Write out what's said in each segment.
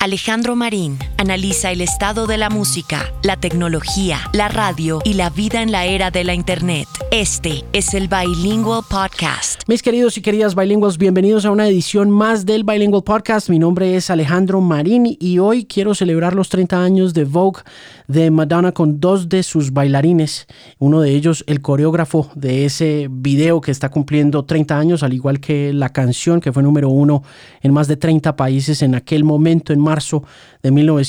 Alejandro Marín analiza el estado de la música, la tecnología, la radio y la vida en la era de la Internet. Este es el Bilingual Podcast. Mis queridos y queridas bilingües, bienvenidos a una edición más del Bilingual Podcast. Mi nombre es Alejandro Marín y hoy quiero celebrar los 30 años de Vogue de Madonna con dos de sus bailarines. Uno de ellos, el coreógrafo de ese video que está cumpliendo 30 años, al igual que la canción que fue número 1 en más de 30 países en aquel momento, en marzo de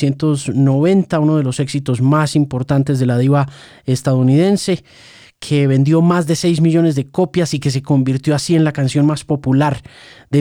1990, uno de los éxitos más importantes de la diva estadounidense, que vendió más de 6 millones de copias y que se convirtió así en la canción más popular de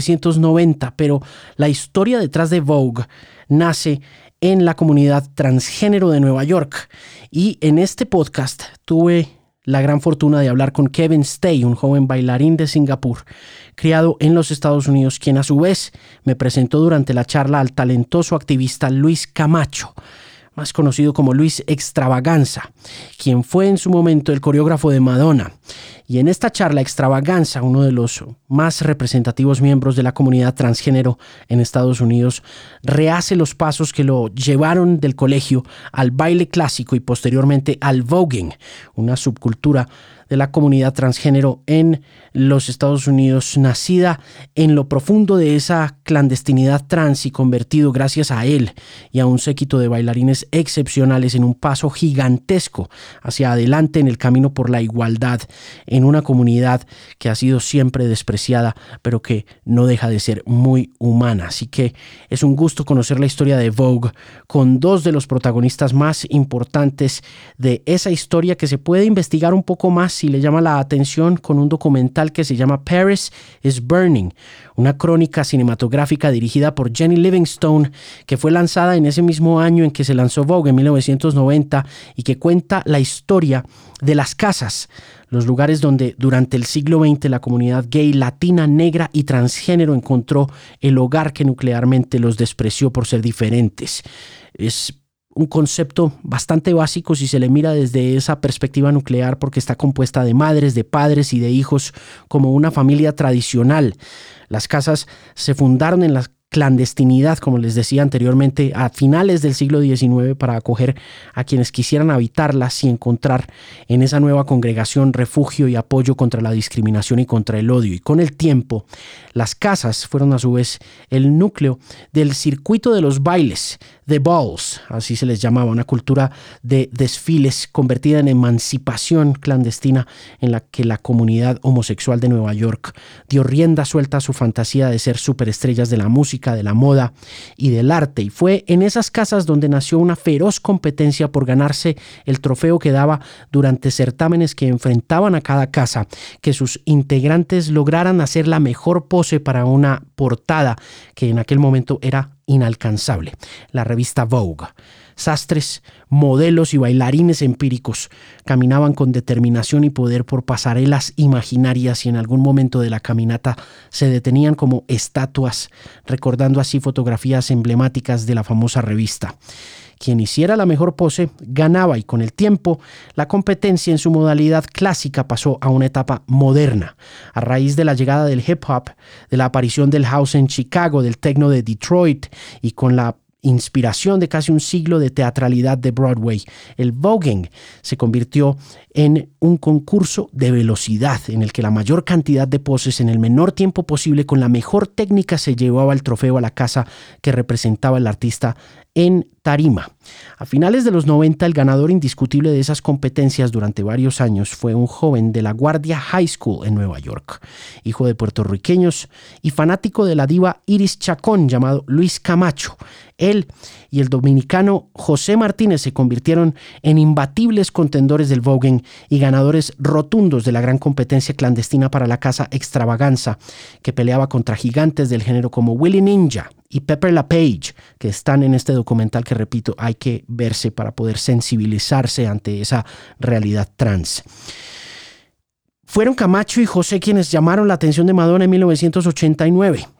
1990. Pero la historia detrás de Vogue nace en la comunidad transgénero de Nueva York. Y en este podcast tuve la gran fortuna de hablar con Kevin Stay, un joven bailarín de Singapur, criado en los Estados Unidos, quien a su vez me presentó durante la charla al talentoso activista Luis Camacho, más conocido como Luis Extravaganza, quien fue en su momento el coreógrafo de Madonna. Y en esta charla, Extravaganza, uno de los más representativos miembros de la comunidad transgénero en Estados Unidos, rehace los pasos que lo llevaron del colegio al baile clásico y posteriormente al voguing, una subcultura de la comunidad transgénero en los Estados Unidos, nacida en lo profundo de esa clandestinidad trans y convertido gracias a él y a un séquito de bailarines excepcionales en un paso gigantesco hacia adelante en el camino por la igualdad en una comunidad que ha sido siempre despreciada, pero que no deja de ser muy humana. Así que es un gusto conocer la historia de Vogue con dos de los protagonistas más importantes de esa historia, que se puede investigar un poco más si le llama la atención con un documental que se llama Paris is Burning, una crónica cinematográfica dirigida por Jenny Livingstone, que fue lanzada en ese mismo año en que se lanzó Vogue, en 1990, y que cuenta la historia de las casas, los lugares donde durante el siglo XX la comunidad gay, latina, negra y transgénero encontró el hogar que nuclearmente los despreció por ser diferentes. Es un concepto bastante básico si se le mira desde esa perspectiva nuclear, porque está compuesta de madres, de padres y de hijos como una familia tradicional. Las casas se fundaron en la clandestinidad, como les decía anteriormente, a finales del siglo XIX para acoger a quienes quisieran habitarlas y encontrar en esa nueva congregación refugio y apoyo contra la discriminación y contra el odio. Y con el tiempo, las casas fueron a su vez el núcleo del circuito de los bailes, The Balls, así se les llamaba, una cultura de desfiles convertida en emancipación clandestina en la que la comunidad homosexual de Nueva York dio rienda suelta a su fantasía de ser superestrellas de la música, de la moda y del arte. Y fue en esas casas donde nació una feroz competencia por ganarse el trofeo que daba durante certámenes que enfrentaban a cada casa, que sus integrantes lograran hacer la mejor pose para una portada que en aquel momento era inalcanzable, la revista Vogue. Sastres, modelos y bailarines empíricos caminaban con determinación y poder por pasarelas imaginarias y en algún momento de la caminata se detenían como estatuas, recordando así fotografías emblemáticas de la famosa revista. Quien hiciera la mejor pose ganaba, y con el tiempo la competencia en su modalidad clásica pasó a una etapa moderna. A raíz de la llegada del hip hop, de la aparición del house en Chicago, del techno de Detroit y con la inspiración de casi un siglo de teatralidad de Broadway, el voguing se convirtió en un concurso de velocidad en el que la mayor cantidad de poses en el menor tiempo posible con la mejor técnica se llevaba el trofeo a la casa que representaba el artista en tarima. A finales de los 90, el ganador indiscutible de esas competencias durante varios años fue un joven de la Guardia High School en Nueva York, hijo de puertorriqueños y fanático de la diva Iris Chacón, llamado Luis Camacho. Él y el dominicano José Martínez se convirtieron en imbatibles contendores del voguing y ganadores rotundos de la gran competencia clandestina para la casa Extravaganza, que peleaba contra gigantes del género como Willie Ninja y Pepper LaPage, que están en este documental que, repito, hay que verse para poder sensibilizarse ante esa realidad trans. Fueron Camacho y José quienes llamaron la atención de Madonna en 1989.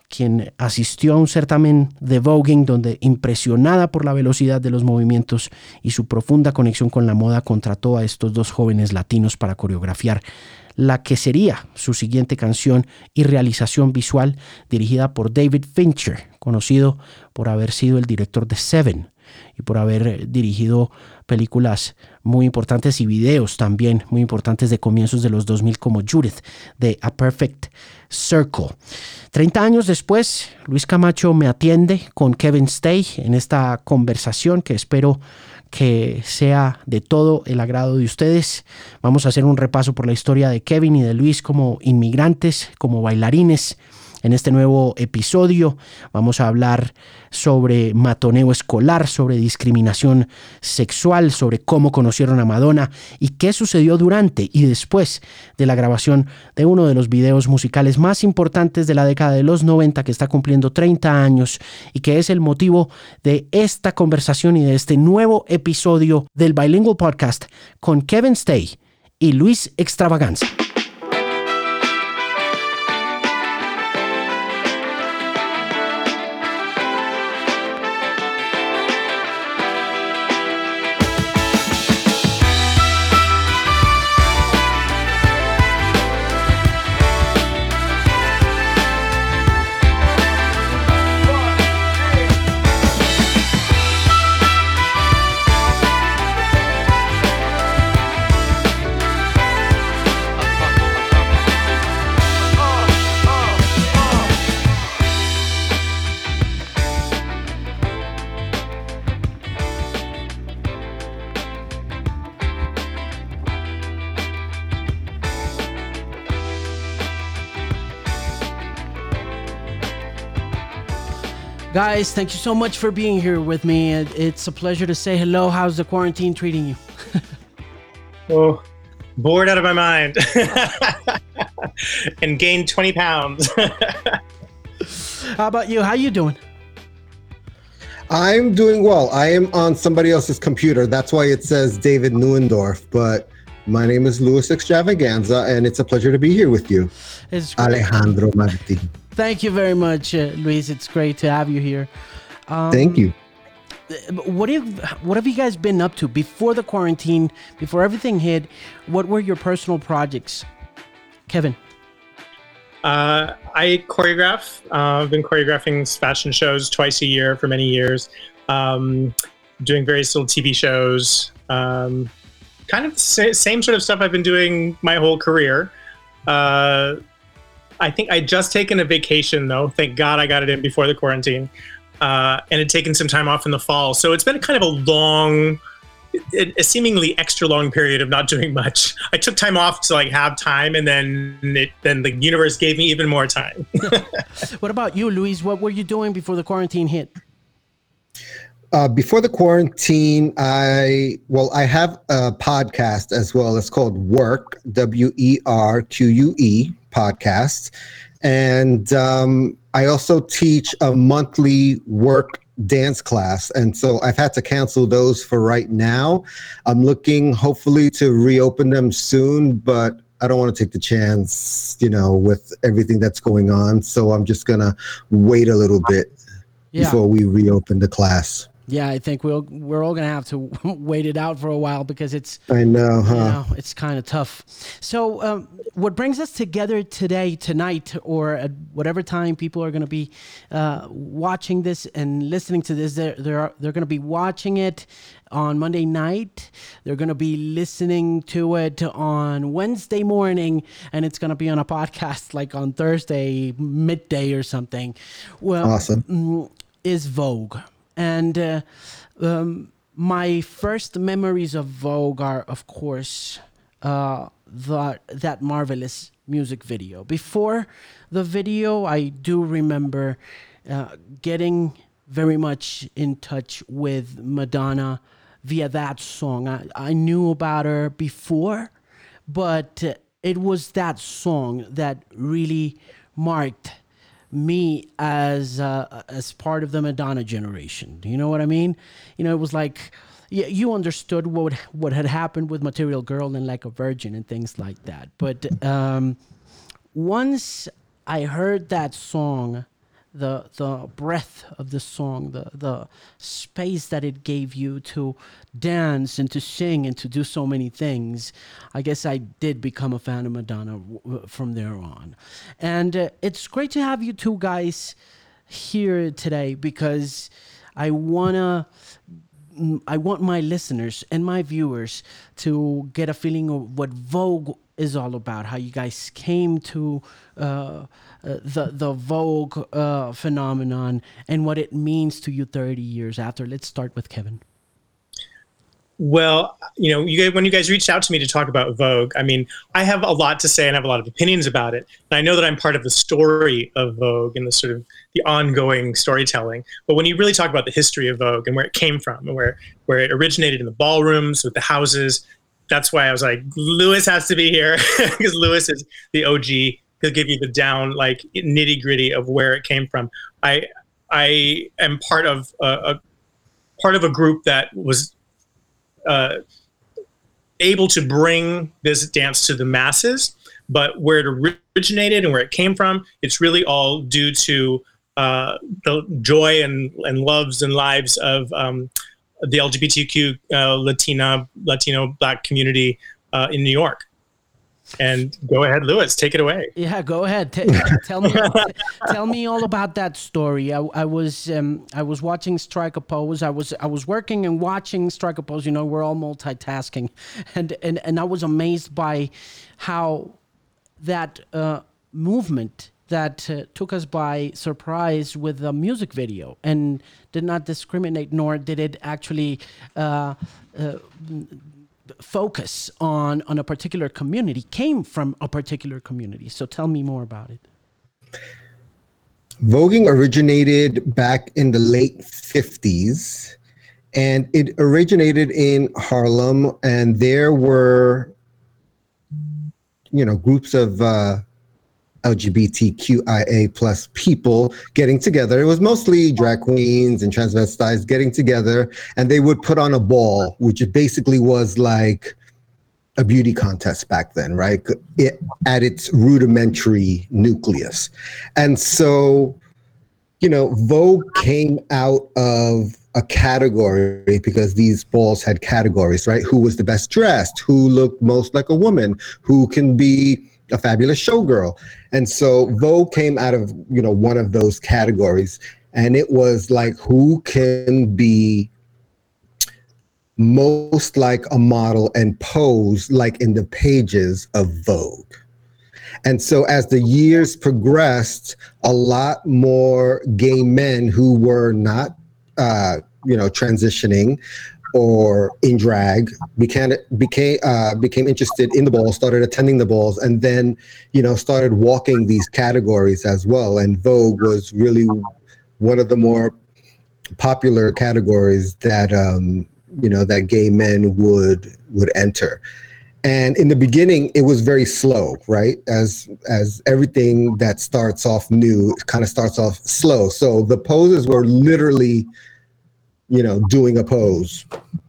quien asistió a un certamen de voguing donde, impresionada por la velocidad de los movimientos y su profunda conexión con la moda, contrató a estos dos jóvenes latinos para coreografiar la que sería su siguiente canción y realización visual, dirigida por David Fincher, conocido por haber sido el director de Seven y por haber dirigido películas muy importantes y videos también muy importantes de comienzos de los 2000 como Judith, de A Perfect Circle. 30 años después, Luis Camacho me atiende con Kevin Stay en esta conversación que espero que sea de todo el agrado de ustedes. Vamos a hacer un repaso por la historia de Kevin y de Luis como inmigrantes, como bailarines. En este nuevo episodio vamos a hablar sobre matoneo escolar, sobre discriminación sexual, sobre cómo conocieron a Madonna y qué sucedió durante y después de la grabación de uno de los videos musicales más importantes de la década de los 90, que está cumpliendo 30 años y que es el motivo de esta conversación y de este nuevo episodio del Bilingual Podcast con Kevin Stay y Luis Extravaganza. Guys, thank you so much for being here with me. It's a pleasure to say hello. How's the quarantine treating you? Oh, bored out of my mind. And gained 20 pounds. How about you? How you doing? I'm doing well. I am on somebody else's computer. That's why it says David Neuendorf. But my name is Luis Extravaganza, and it's a pleasure to be here with you. It's Alejandro Martin. Thank you very much, Luis. It's great to have you here. Thank you. What have you guys been up to before the quarantine, before everything hit? What were your personal projects? Kevin? I choreograph. I've been choreographing fashion shows twice a year for many years, doing various little TV shows, kind of the same sort of stuff I've been doing my whole career. I think I'd just taken a vacation, though. Thank God I got it in before the quarantine, and had taken some time off in the fall. So it's been kind of a long, a seemingly extra long period of not doing much. I took time off to have time, and then the universe gave me even more time. What about you, Luis? What were you doing before the quarantine hit? Before the quarantine, I have a podcast as well. It's called Work, WERQUE podcast. And I also teach a monthly work dance class. And so I've had to cancel those for right now. I'm looking hopefully to reopen them soon, but I don't want to take the chance, with everything that's going on. So I'm just going to wait a little bit before we reopen the class. Yeah, I think we're all going to have to wait it out for a while because it's... I know, huh? It's kind of tough. So what brings us together tonight, or at whatever time people are going to be watching this and listening to this, they're going to be watching it on Monday night. They're going to be listening to it on Wednesday morning, and it's going to be on a podcast like on Thursday midday or something. Well, awesome. Is Vogue. And my first memories of Vogue are, of course, that marvelous music video. Before the video, I do remember getting very much in touch with Madonna via that song. I knew about her before, but it was that song that really marked me as part of the Madonna generation. Do you know what I mean? It was like, you understood what had happened with Material Girl and Like a Virgin and things like that. But once I heard that song the breadth of the song, the space that it gave you to dance and to sing and to do so many things, I guess I did become a fan of Madonna from there on. And it's great to have you two guys here today because I want my listeners and my viewers to get a feeling of what Vogue is all about, how you guys came to the Vogue phenomenon and what it means to you 30 years after. Let's start with Kevin. Well, when you guys reached out to me to talk about Vogue, I mean, I have a lot to say and I have a lot of opinions about it. And I know that I'm part of the story of Vogue and the sort of the ongoing storytelling. But when you really talk about the history of Vogue and where it came from and where it originated in the ballrooms with the houses, that's why I was like, Louis has to be here because Louis is the OG. He'll give you the down, like nitty gritty of where it came from. I am part of a group that was able to bring this dance to the masses, but where it originated and where it came from, it's really all due to the joy and loves and lives of the LGBTQ Latino Black community in New York. And go ahead, Louis, take it away. Yeah, go ahead. Tell me all about that story. I was watching Strike a Pose. I was working and watching Strike a Pose. We're all multitasking, and I was amazed by how that movement that took us by surprise with the music video and did not discriminate, nor did it actually focus on a particular community, came from a particular community. So tell me more about it. Voguing originated back in the late 50s, and it originated in Harlem, and there were, groups of LGBTQIA plus people getting together. It was mostly drag queens and transvestites getting together, and they would put on a ball, which basically was like a beauty contest back then, right? At its rudimentary nucleus. And so, Vogue came out of a category because these balls had categories, right? Who was the best dressed? Who looked most like a woman? Who can be a fabulous showgirl? And so Vogue came out of, one of those categories, and it was like, who can be most like a model and pose like in the pages of Vogue? And so as the years progressed, a lot more gay men who were not, transitioning or in drag became interested in the balls, started attending the balls, and then, started walking these categories as well. And Vogue was really one of the more popular categories that, that gay men would enter. And in the beginning, it was very slow, right? As everything that starts off new kind of starts off slow. So the poses were literally, doing a pose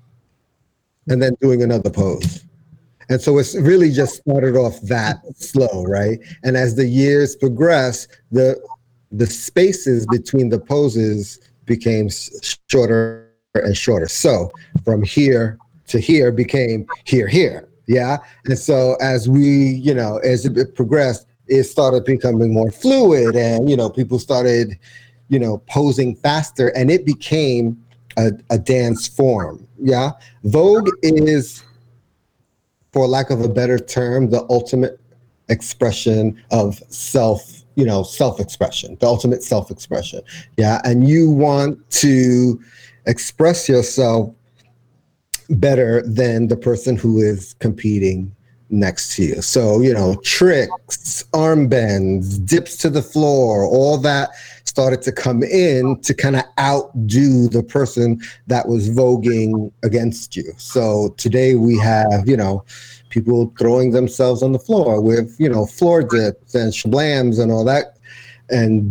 and then doing another pose. And so it's really just started off that slow, right? And as the years progress, the spaces between the poses became shorter and shorter. So from here to here became here. Yeah. And so as we, as it progressed, it started becoming more fluid, and, people started, posing faster, and it became a dance form. Yeah. Vogue is, for lack of a better term, the ultimate expression of self-expression, the ultimate self-expression. Yeah. And you want to express yourself better than the person who is competing next to you. So, tricks, armbands, dips to the floor, all that started to come in to kind of outdo the person that was voguing against you. So today we have, people throwing themselves on the floor with, floor dips and shablams and all that, and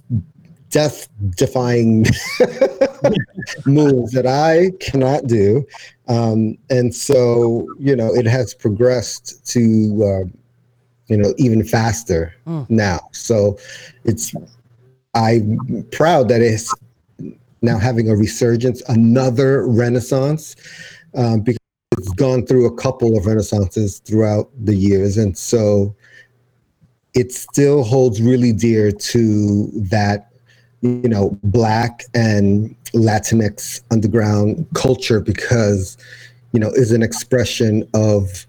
death-defying moves that I cannot do. And so, it has progressed to, even faster now. So it's I'm proud that it's now having a resurgence, another renaissance, because it's gone through a couple of renaissances throughout the years. And so it still holds really dear to that, Black and Latinx underground culture, because, is an expression of,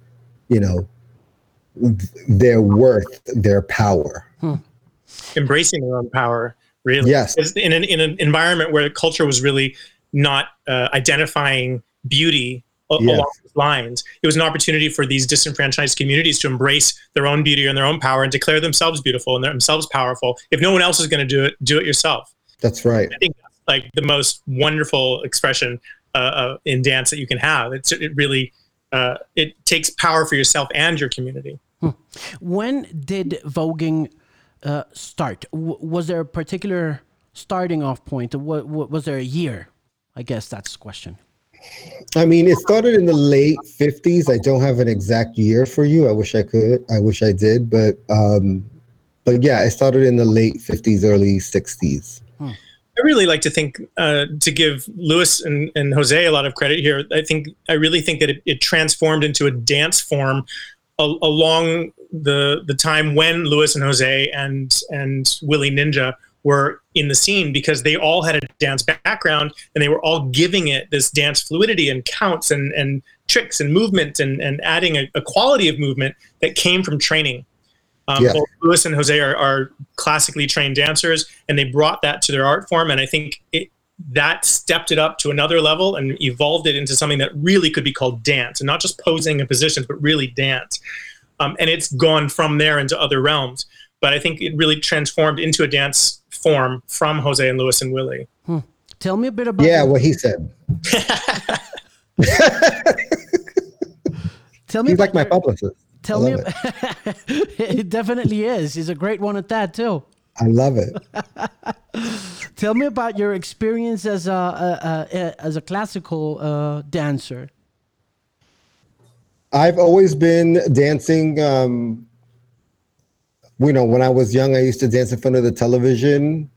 their worth, their power. Embracing their own power, really. Yes. In an environment where culture was really not identifying beauty along those lines, it was an opportunity for these disenfranchised communities to embrace their own beauty and their own power and declare themselves beautiful and themselves powerful. If no one else is going to do it yourself. That's right. I think that's like the most wonderful expression in dance that you can have. It really takes power for yourself and your community. When did voguing start? Was there a particular starting off point? Was there a year? I guess that's the question. I mean, it started in the late 50s. I don't have an exact year for you. I wish I could. I wish I did. But yeah, it started in the late 50s, early 60s. I really like to think, to give Luis and Jose a lot of credit here. I really think that it transformed into a dance form along the time when Luis and Jose and Willie Ninja were in the scene, because they all had a dance background and they were all giving it this dance fluidity and counts and tricks and movement and adding a quality of movement that came from training. Both Luis and Jose are classically trained dancers, and they brought that to their art form. And I think that stepped it up to another level and evolved it into something that really could be called dance, and not just posing in positions, but really dance. And it's gone from there into other realms. But I think it really transformed into a dance form from Jose and Luis and Willie. Tell me a bit about what he said. Tell me. He's like my publicist. Tell me. It definitely is. He's a great one at that too. I love it. Tell me about your experience as a classical dancer. I've always been dancing. When I was young, I used to dance in front of the television.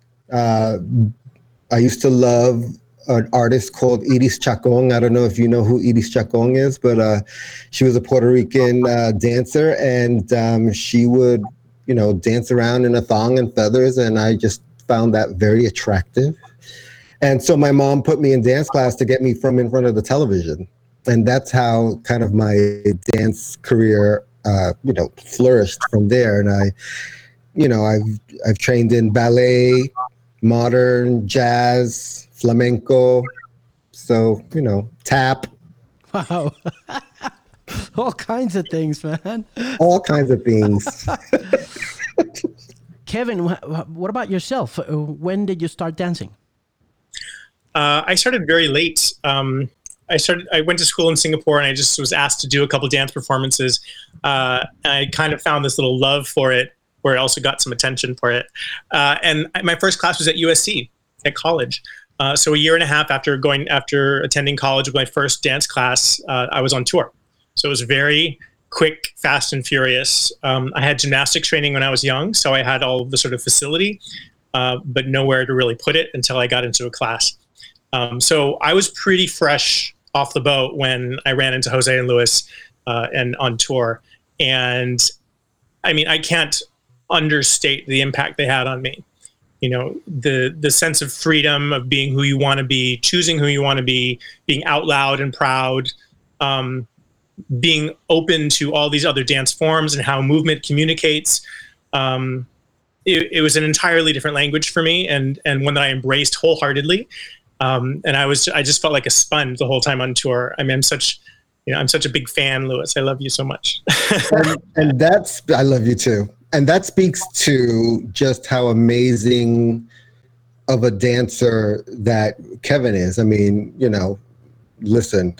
I used to love an artist called Iris Chacon. I don't know if you know who Iris Chacon is, but she was a Puerto Rican dancer, and she would, dance around in a thong and feathers, and I just found that very attractive. And so my mom put me in dance class to get me from in front of the television, and that's how kind of my dance career, flourished from there. And I've trained in ballet, modern, jazz, flamenco, so tap. Wow. All kinds of things, man. All kinds of things. Kevin, what about yourself? When did you start dancing? I started very late. I went to school in Singapore, and I just was asked to do a couple dance performances. I kind of found this little love for it, where I also got some attention for it. And my first class was at USC at college. So a year and a half after attending college with my first dance class, I was on tour. So it was very quick, fast, and furious. I had gymnastics training when I was young, so I had all of the sort of facility, but nowhere to really put it until I got into a class. So I was pretty fresh off the boat when I ran into Jose and Luis and on tour. And I mean, I can't understate the impact they had on me. The sense of freedom of being who you want to be, choosing who you want to be, being out loud and proud, being open to all these other dance forms and how movement communicates. It was an entirely different language for me, and one that I embraced wholeheartedly. And I just felt like a sponge the whole time on tour. I mean, I'm such a big fan, Luis. I love you so much. and I love you too. And that speaks to just how amazing of a dancer that Kevin is. I mean, listen,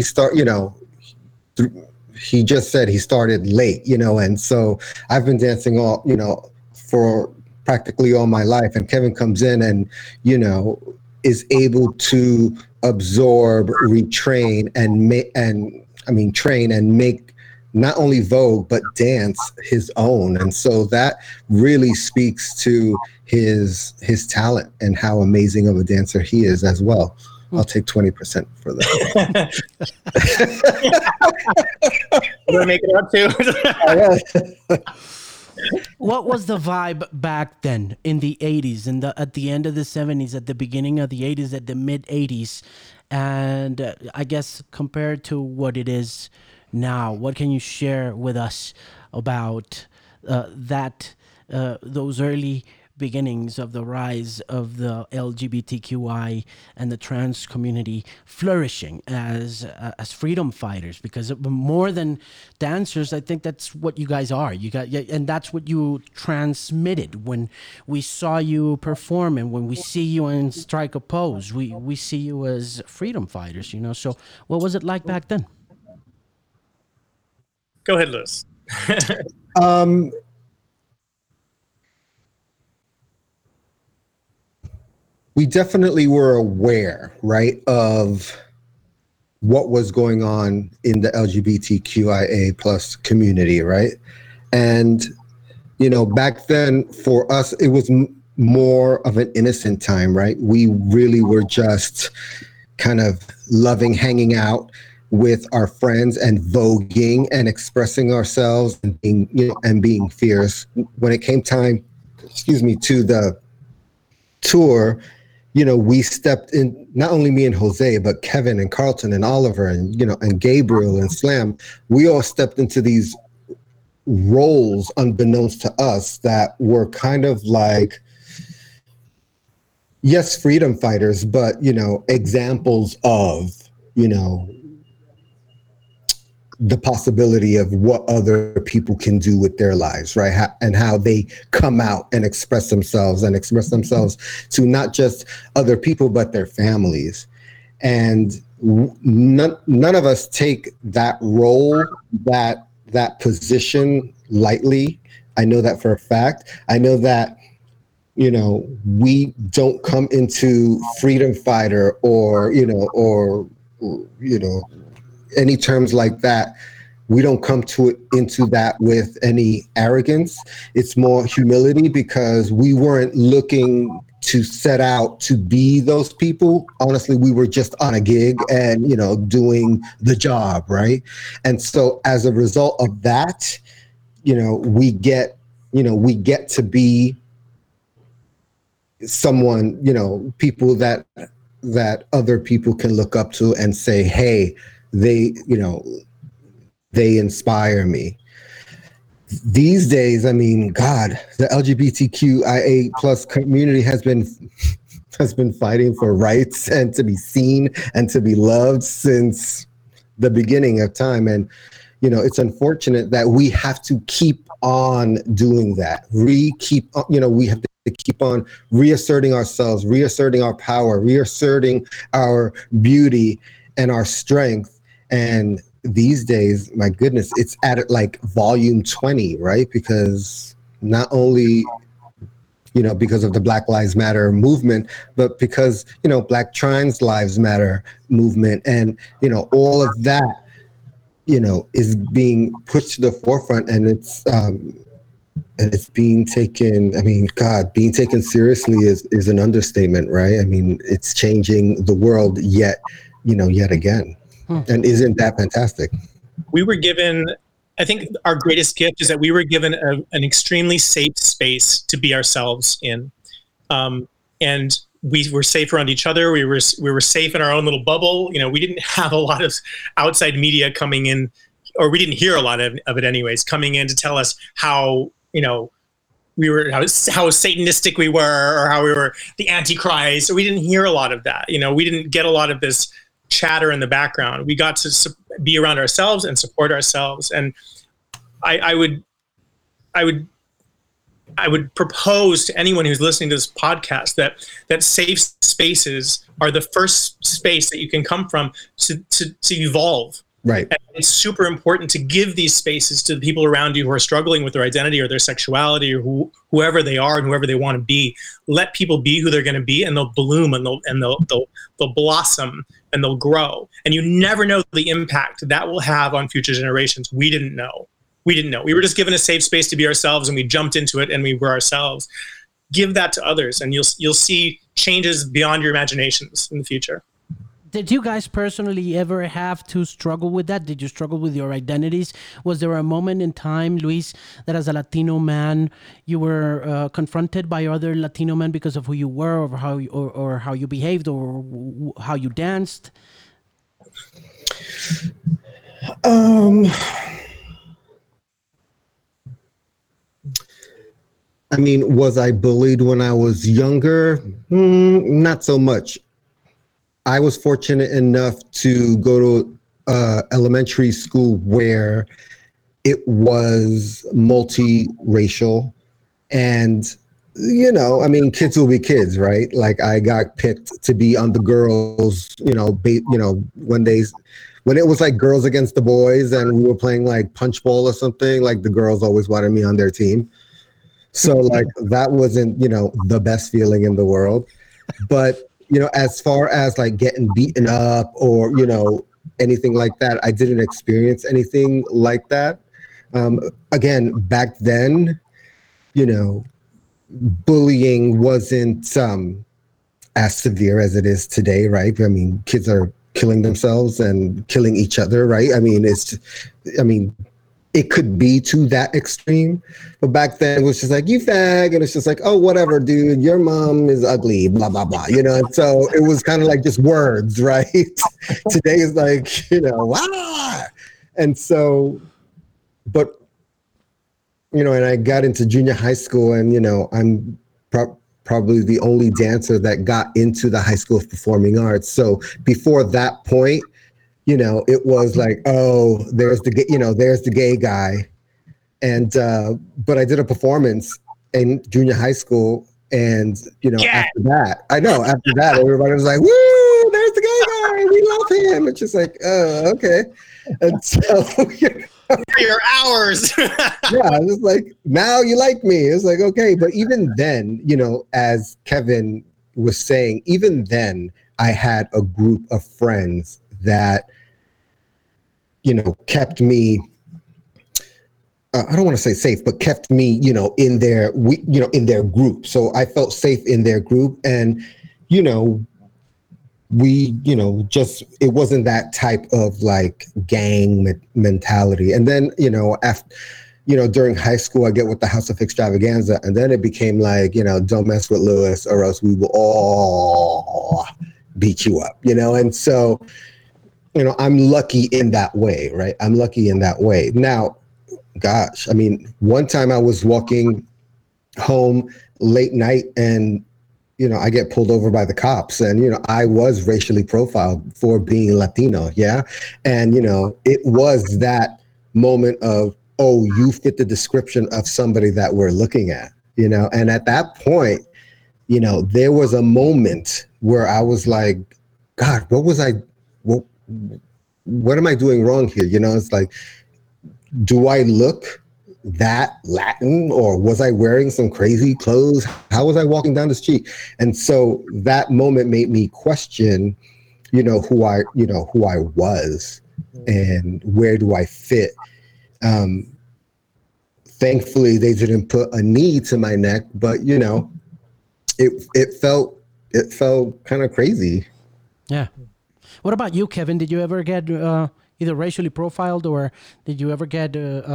he just said he started late, and so I've been dancing for practically all my life. And Kevin comes in and, is able to absorb, retrain, train and make not only Vogue, but dance his own. And so that really speaks to his talent and how amazing of a dancer he is as well. I'll take 20% for that. We're gonna make it up too. What was the vibe back then in the 80s, at the end of the 70s, at the beginning of the 80s, at the mid 80s? And I guess compared to what it is now, what can you share with us about those early beginnings of the rise of the LGBTQI and the trans community flourishing as freedom fighters? Because more than dancers, I think that's what you guys are. And that's what you transmitted when we saw you perform, and when we see you in Strike a Pose, we see you as freedom fighters. So what was it like back then? Go ahead, Lewis. We definitely were aware, right, of what was going on in the LGBTQIA plus community, right? And, back then for us, it was more of an innocent time, right? We really were just kind of loving hanging out with our friends and voguing and expressing ourselves and being fierce. When it came time, to the tour, we stepped in, not only me and Jose, but Kevin and Carlton and Oliver and Gabriel and Slam. We all stepped into these roles unbeknownst to us that were kind of like, yes, freedom fighters, but, examples of, the possibility of what other people can do with their lives, right? And how they come out and express themselves to not just other people, but their families. And none of us take that role, that position lightly. I know that for a fact. I know that, we don't come into freedom fighter or any terms like that. We don't come into that with any arrogance. It's more humility, because we weren't looking to set out to be those people. Honestly, we were just on a gig and, doing the job, right? And so as a result of that, we get to be someone, people that other people can look up to and say, hey, they inspire me. These days, I mean, God, the LGBTQIA plus community has been fighting for rights and to be seen and to be loved since the beginning of time. And, it's unfortunate that we have to keep on doing that. We have to keep on reasserting ourselves, reasserting our power, reasserting our beauty and our strength. And these days, my goodness, it's at like volume 20, right? Because not only, because of the Black Lives Matter movement, but because, Black Trans Lives Matter movement and, all of that, is being pushed to the forefront, and it's being taken. I mean, God, being taken seriously is an understatement, right? I mean, it's changing the world yet again. And isn't that fantastic? We were given, I think our greatest gift is that we were given an extremely safe space to be ourselves in. And we were safe around each other. We were safe in our own little bubble. We didn't have a lot of outside media coming in, or we didn't hear a lot of it anyways, coming in to tell us how, how Satanistic we were, or how we were the Antichrist. So we didn't hear a lot of that. We didn't get a lot of this chatter in the background. We got to be around ourselves and support ourselves. And I would propose to anyone who's listening to this podcast that safe spaces are the first space that you can come from to evolve, Right. And it's super important to give these spaces to the people around you who are struggling with their identity or their sexuality or whoever they are and whoever they want to be. Let people be who they're going to be, and they'll bloom and they'll blossom and they'll grow. And you never know the impact that will have on future generations. We didn't know. We were just given a safe space to be ourselves, and we jumped into it and we were ourselves. Give that to others, and you'll see changes beyond your imaginations in the future. Did you guys personally ever have to struggle with that? Did you struggle with your identities? Was there a moment in time, Luis, that as a Latino man, you were confronted by other Latino men because of who you were, or how you behaved, or how you danced? I mean, was I bullied when I was younger? Not so much. I was fortunate enough to go to elementary school where it was multiracial, and I mean, kids will be kids, right? Like, I got picked to be on the girls, when it was like girls against the boys, and we were playing like punch ball or something. Like, the girls always wanted me on their team, so like that wasn't the best feeling in the world, but. As far as like getting beaten up or, anything like that, I didn't experience anything like that. Again, back then, bullying wasn't as severe as it is today, right? I mean, kids are killing themselves and killing each other, right? I mean, it could be to that extreme, but back then it was just like, you fag, and it's just like, oh, whatever, dude, your mom is ugly, blah, blah, blah, and so it was kind of like just words, right? Today is like, and so, but, and I got into junior high school, and, I'm probably the only dancer that got into the High School of Performing Arts. So before that point, it was like, oh, there's the gay guy. And, but I did a performance in junior high school. And, after that, everybody was like, woo, there's the gay guy. We love him. It's just like, oh, okay. And so, for your hours. Yeah, it was like, now you like me. It's like, okay. But even then, as Kevin was saying, even then I had a group of friends that, kept me, I don't want to say safe, but kept me, in their group. So I felt safe in their group, and, it wasn't that type of like gang mentality. And then, after, during high school, I get with the House of Extravaganza, and then it became like, don't mess with Luis or else we will all beat you up, and so, I'm lucky in that way, right? I'm lucky in that way. Now, gosh, I mean, one time I was walking home late night, and, I get pulled over by the cops, and, I was racially profiled for being Latino. Yeah. And, it was that moment of, oh, you fit the description of somebody that we're looking at, and at that point, there was a moment where I was like, God, what am I doing wrong here? It's like, do I look that Latin, or was I wearing some crazy clothes? How was I walking down the street? And so that moment made me question, who I was and where do I fit? Thankfully, they didn't put a knee to my neck, but it felt kind of crazy. Yeah. What about you, Kevin? Did you ever get either racially profiled, or did you ever get?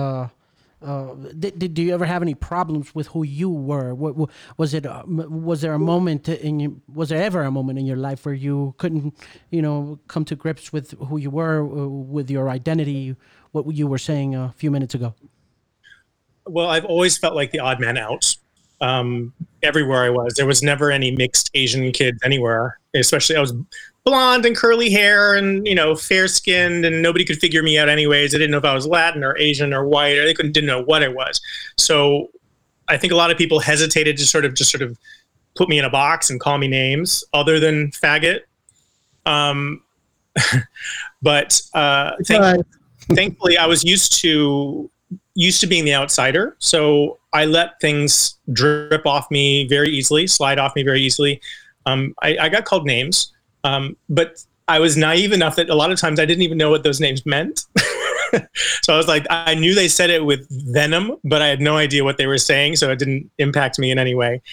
Did you ever have any problems with who you were? Was it? Was there a moment was there ever a moment in your life where you couldn't, come to grips with who you were, with your identity? What you were saying a few minutes ago. Well, I've always felt like the odd man out. Everywhere I was, there was never any mixed Asian kids anywhere. Especially, I was blonde and curly hair and, fair skinned, and nobody could figure me out anyways. They didn't know if I was Latin or Asian or white, or they didn't know what I was. So I think a lot of people hesitated to sort of put me in a box and call me names other than faggot. But thankfully, I was used to being the outsider, so I let things drip off me very easily, slide off me very easily. I got called names, but I was naive enough that a lot of times I didn't even know what those names meant. So I was like, I knew they said it with venom, but I had no idea what they were saying, so it didn't impact me in any way.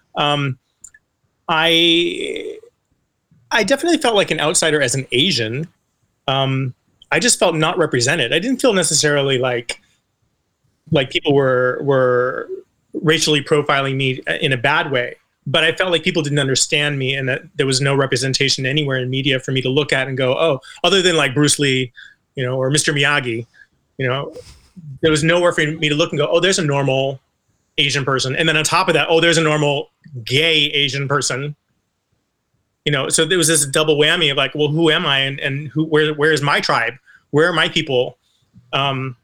I definitely felt like an outsider as an Asian. I just felt not represented. I didn't feel necessarily like people were racially profiling me in a bad way, but I felt like people didn't understand me, and that there was no representation anywhere in media for me to look at and go, oh, other than like Bruce Lee, or Mr. Miyagi, there was nowhere for me to look and go, oh, there's a normal Asian person. And then on top of that, oh, there's a normal gay Asian person. So there was this double whammy of like, well, who am I? And where is my tribe? Where are my people? On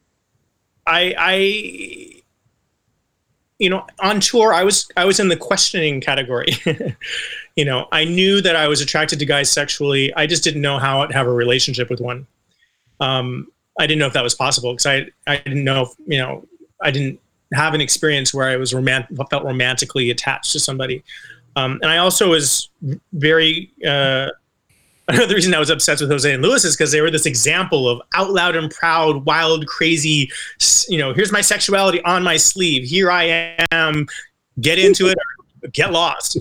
tour, I was in the questioning category. I knew that I was attracted to guys sexually. I just didn't know how to have a relationship with one. I didn't know if that was possible, because I didn't know if, I didn't have an experience where I was felt romantically attached to somebody. And I also was very, another reason I was obsessed with Jose and Luis is because they were this example of out loud and proud, wild, crazy, here's my sexuality on my sleeve. Here I am, get into it or get lost.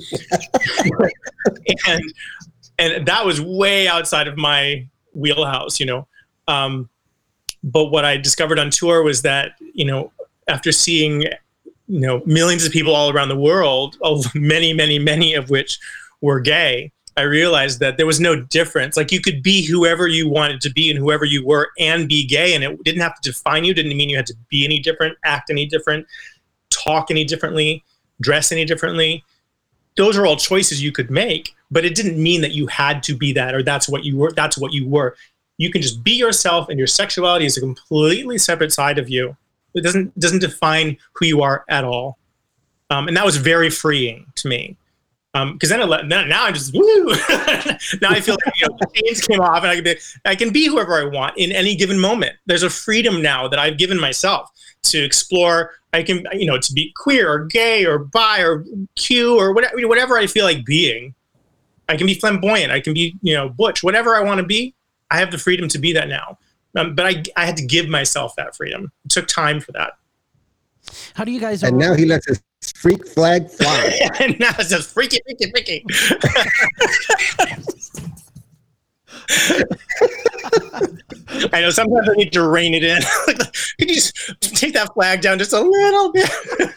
and that was way outside of my wheelhouse, but what I discovered on tour was that, after seeing, millions of people all around the world, many, many, many of which were gay, I realized that there was no difference. Like, you could be whoever you wanted to be and whoever you were and be gay, and it didn't have to define you, didn't mean you had to be any different, act any different, talk any differently, dress any differently. Those are all choices you could make, but it didn't mean that you had to be that, or that's what you were. You can just be yourself, and your sexuality is a completely separate side of you. It doesn't define who you are at all. And that was very freeing to me. Because now I'm just woo. Now I feel like the chains came off, and I can be whoever I want in any given moment. There's a freedom now that I've given myself to explore. I can to be queer or gay or bi or Q or whatever I feel like being. I can be flamboyant. I can be butch. Whatever I want to be, I have the freedom to be that now. But I had to give myself that freedom. It took time for that. How do you guys? And now he lets his freak flag fly. And now it's just freaky. I know sometimes I need to rein it in. Could you just take that flag down just a little bit?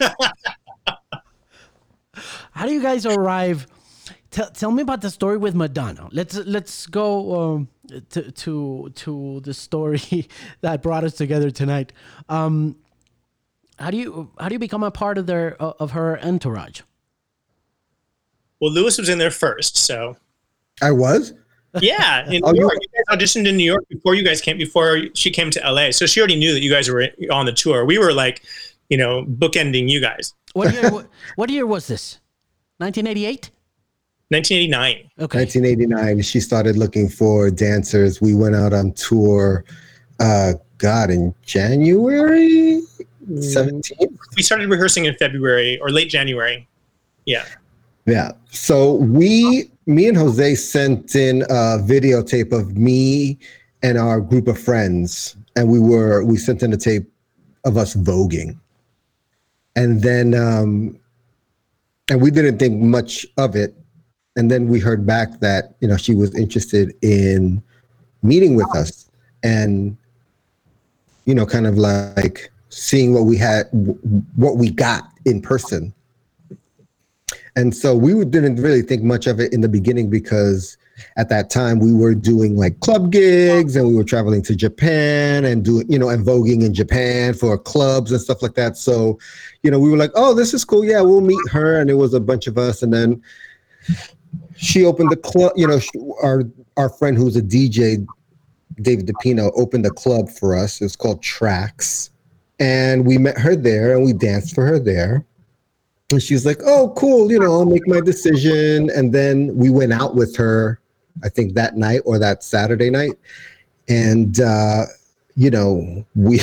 How do you guys arrive? Tell me about the story with Madonna. Let's go to the story that brought us together tonight. How do you become a part of her entourage? Well, Luis was in there first, so I was. Yeah, in New York. You guys auditioned in New York before she came to LA. So she already knew that you guys were on the tour. We were like, bookending you guys. What year was this? 1988. 1989. Okay. 1989. She started looking for dancers. We went out on tour. In January 17th. We started rehearsing in February or late January. Yeah. Yeah. So me and Jose sent in a videotape of me and our group of friends, and we sent in a tape of us voguing, and then and we didn't think much of it, and then we heard back that she was interested in meeting with us, and kind of like seeing what we got in person. And so we didn't really think much of it in the beginning, because at that time we were doing like club gigs, and we were traveling to Japan and doing, and voguing in Japan for clubs and stuff like that. So, we were like, oh, this is cool. Yeah, we'll meet her. And it was a bunch of us. And then she opened the club, our friend who's a DJ, David DePino, opened a club for us. It's called Tracks. And we met her there, and we danced for her there. And she's like, oh, cool, I'll make my decision. And then we went out with her I think that night or that Saturday night. And, you know, we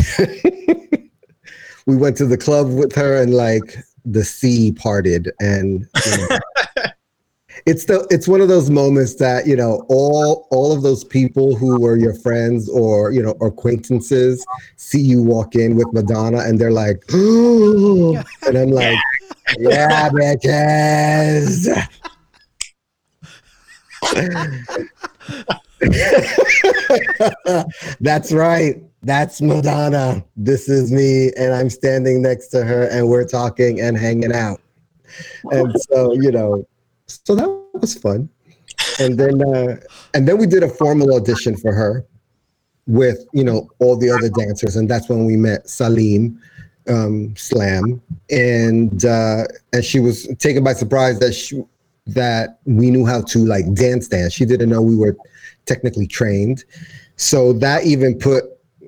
we went to the club with her and like the sea parted. And you know, it's one of those moments that, you know, all of those people who were your friends or, you know, acquaintances see you walk in with Madonna and they're like, oh, and I'm like, yeah, bitches. That's right. That's Madonna. This is me. And I'm standing next to her and we're talking and hanging out. And so, you know, so that was fun. And then we did a formal audition for her with, you know, all the other dancers. And that's when we met Salim Slam. And she was taken by surprise that we knew how to like dance. She didn't know we were technically trained. So that even put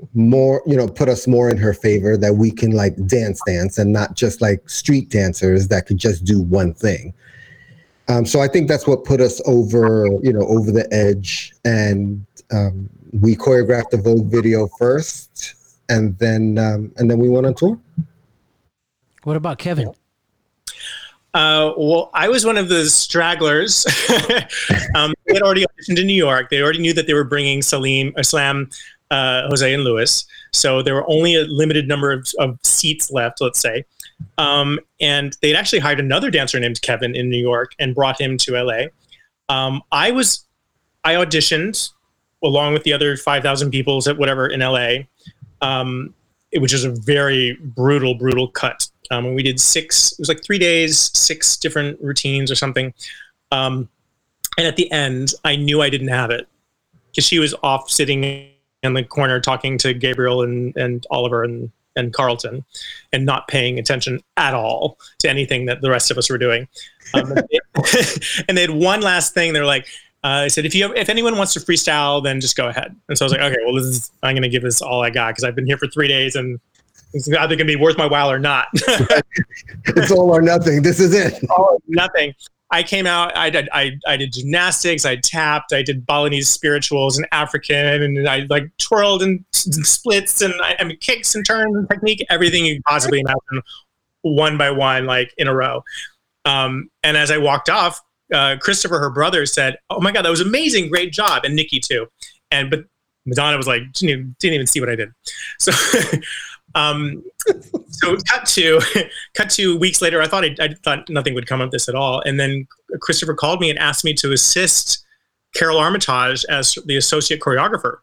us more in her favor, that we can like dance and not just like street dancers that could just do one thing. So I think that's what put us over the edge. And we choreographed the Vogue video first, and then we went on tour. What about Kevin? Well, I was one of the stragglers. They had already auditioned in New York. They already knew that they were bringing Slam, Jose, and Luis. So there were only a limited number of seats left, let's say. And they'd actually hired another dancer named Kevin in New York and brought him to LA. I auditioned along with the other 5,000 people in LA, which is a very brutal cut. And we did it was like 3 days, 6 different routines or something. And at the end, I knew I didn't have it because she was off sitting in the corner talking to Gabriel and Oliver and Carlton and not paying attention at all to anything that the rest of us were doing. And they had one last thing. They're like, I said, if anyone wants to freestyle, then just go ahead. And so I was like, okay, well, I'm going to give this all I got because I've been here for 3 days and it's either going to be worth my while or not. It's all or nothing. This is it. All or nothing. I came out, I did gymnastics, I tapped, I did Balinese spirituals and African, and I like twirled and splits and I mean kicks and turns and technique, everything you could possibly imagine, one by one, like in a row. And as I walked off, Christopher, her brother, said, "Oh my God, that was amazing, great job," and Nikki too. But Madonna was like, didn't even see what I did. So. So cut to weeks later, I thought nothing would come of this at all. And then Christopher called me and asked me to assist Carol Armitage as the associate choreographer.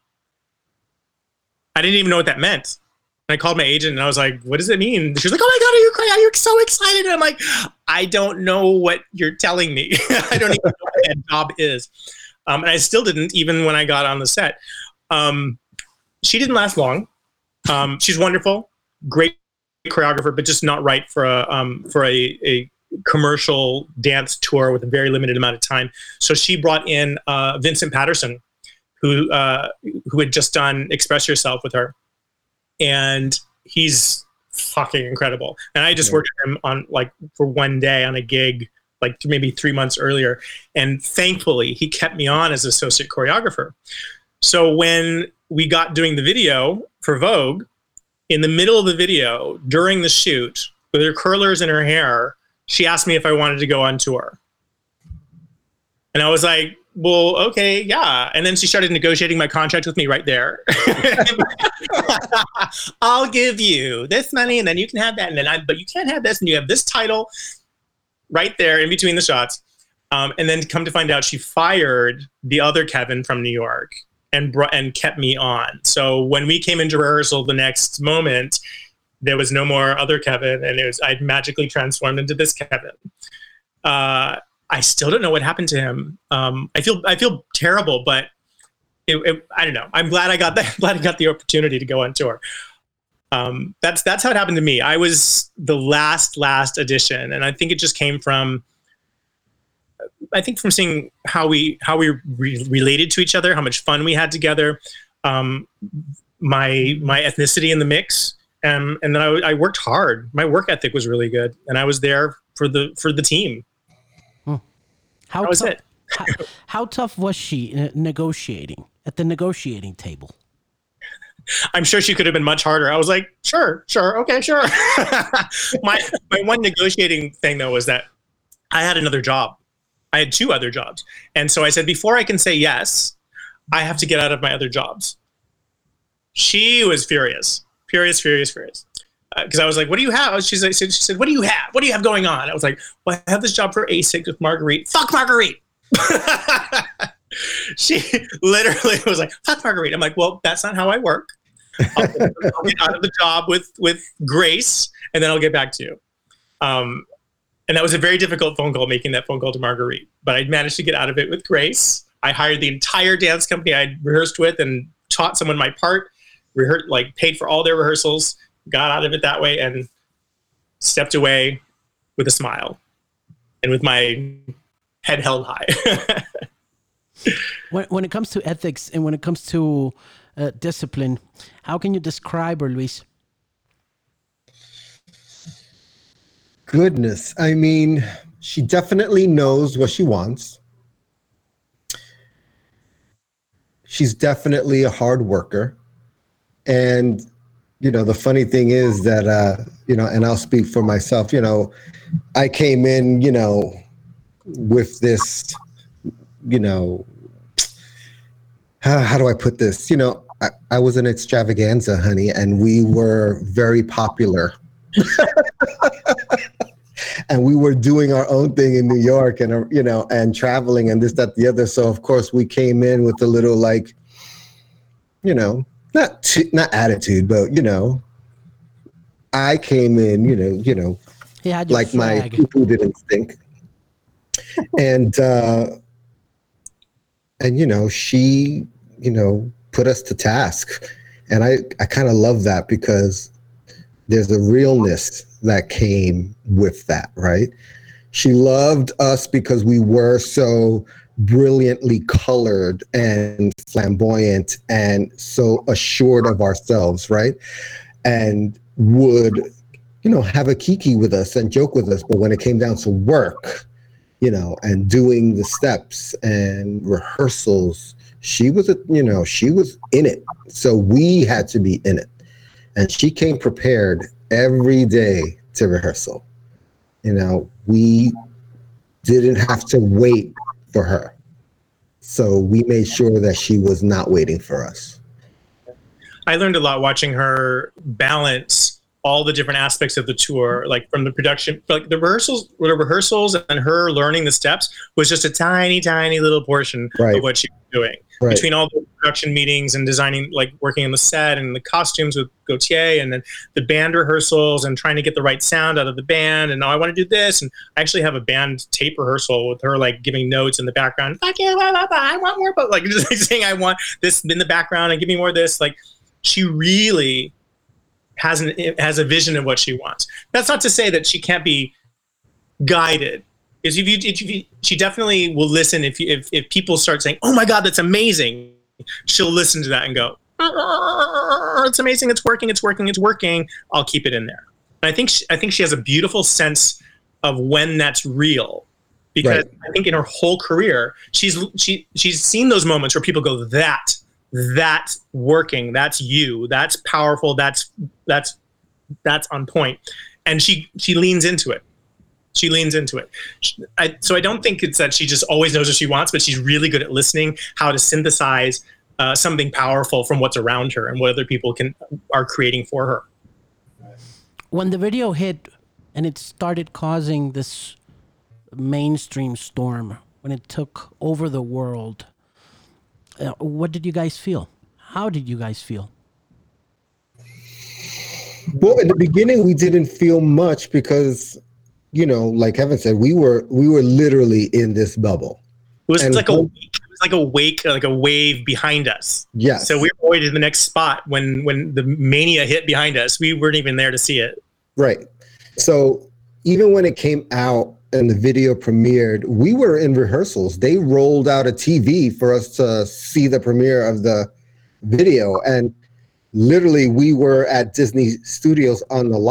I didn't even know what that meant. And I called my agent and I was like, what does it mean? She was like, oh my God, are you so excited? And I'm like, I don't know what you're telling me. I don't even know what that job is. And I still didn't, even when I got on the set. She didn't last long. She's wonderful, great choreographer, but just not right for a commercial dance tour with a very limited amount of time. So she brought in Vincent Patterson, who had just done Express Yourself with her, and he's fucking incredible. And I just worked with him on for one day on a gig, maybe 3 months earlier, and thankfully he kept me on as associate choreographer. So when we got doing the video for Vogue, in the middle of the video, during the shoot, with her curlers in her hair, she asked me if I wanted to go on tour. And I was like, well, okay, yeah. And then she started negotiating my contract with me right there. I'll give you this money and then you can have that. But you can't have this, and you have this title right there in between the shots. And then come to find out, she fired the other Kevin from New York and kept me on. So when we came into rehearsal the next moment, there was no more other Kevin, and I'd magically transformed into this Kevin. I still don't know what happened to him. I feel terrible, but I don't know. I'm glad I got the opportunity to go on tour. That's how it happened to me. I was the last audition, and I think it just came from seeing how we related to each other, how much fun we had together, my ethnicity in the mix, and then I worked hard. My work ethic was really good, and I was there for the team. How was it? How tough was she negotiating at the negotiating table? I'm sure she could have been much harder. I was like, sure, okay, sure. my one negotiating thing though was that I had another job. I had 2 other jobs, and so I said, before I can say yes, I have to get out of my other jobs. She was furious. Because I was like, what do you have? She said, what do you have? What do you have going on? I was like, well, I have this job for ASIC with Marguerite. Fuck Marguerite. She literally was like, fuck Marguerite. I'm like, well, that's not how I work. I'll get out of the job with grace, and then I'll get back to you. And that was a very difficult phone call, making that phone call to Marguerite. But I managed to get out of it with grace. I hired the entire dance company I'd rehearsed with and taught someone my part, paid for all their rehearsals, got out of it that way, and stepped away with a smile and with my head held high. When it comes to ethics and when it comes to discipline, how can you describe her, Luis? Goodness. I mean, she definitely knows what she wants. She's definitely a hard worker. And, the funny thing is that, and I'll speak for myself, I came in, with this, how do I put this? I was an extravaganza, honey, and we were very popular. And we were doing our own thing in New York and, and traveling and this, that, the other. So, of course, we came in with a little not attitude, but, I came in, like my food instinct. And she, put us to task. And I kind of love that because there's a realness that came with that, right? She loved us because we were so brilliantly colored and flamboyant and so assured of ourselves, right? And would, have a kiki with us and joke with us. But when it came down to work, and doing the steps and rehearsals, she was in it. So we had to be in it. And she came prepared every day to rehearsal. We didn't have to wait for her. So we made sure that she was not waiting for us. I learned a lot watching her balance all the different aspects of the tour, like from the production, like the rehearsals and her learning the steps was just a tiny, tiny little portion of what she was doing. Right. Between all the production meetings and designing, like working on the set and the costumes with Gautier, and then the band rehearsals and trying to get the right sound out of the band. And now I want to do this. And I actually have a band tape rehearsal with her, like giving notes in the background. Fuck you, blah, blah, blah, I want more, but like just like saying I want this in the background and give me more of this. Like she really has a vision of what she wants. That's not to say that she can't be guided. She definitely will listen if people start saying, "Oh my God, that's amazing," she'll listen to that and go, "It's amazing, it's working. I'll keep it in there." And I think she has a beautiful sense of when that's real, because right. I think in her whole career she's seen those moments where people go, that's working, that's you, that's powerful, that's on point, and she leans into it. So I don't think it's that she just always knows what she wants, but she's really good at listening, how to synthesize something powerful from what's around her and what other people are creating for her. When the video hit and it started causing this mainstream storm, when it took over the world, what did you guys feel? How did you guys feel? Well, in the beginning, we didn't feel much because, like Kevin said, we were literally in this bubble. It was like a wave behind us. Yes. So we were already in the next spot when the mania hit behind us. We weren't even there to see it. Right. So even when it came out and the video premiered, we were in rehearsals. They rolled out a TV for us to see the premiere of the video. And literally we were at Disney Studios on the lot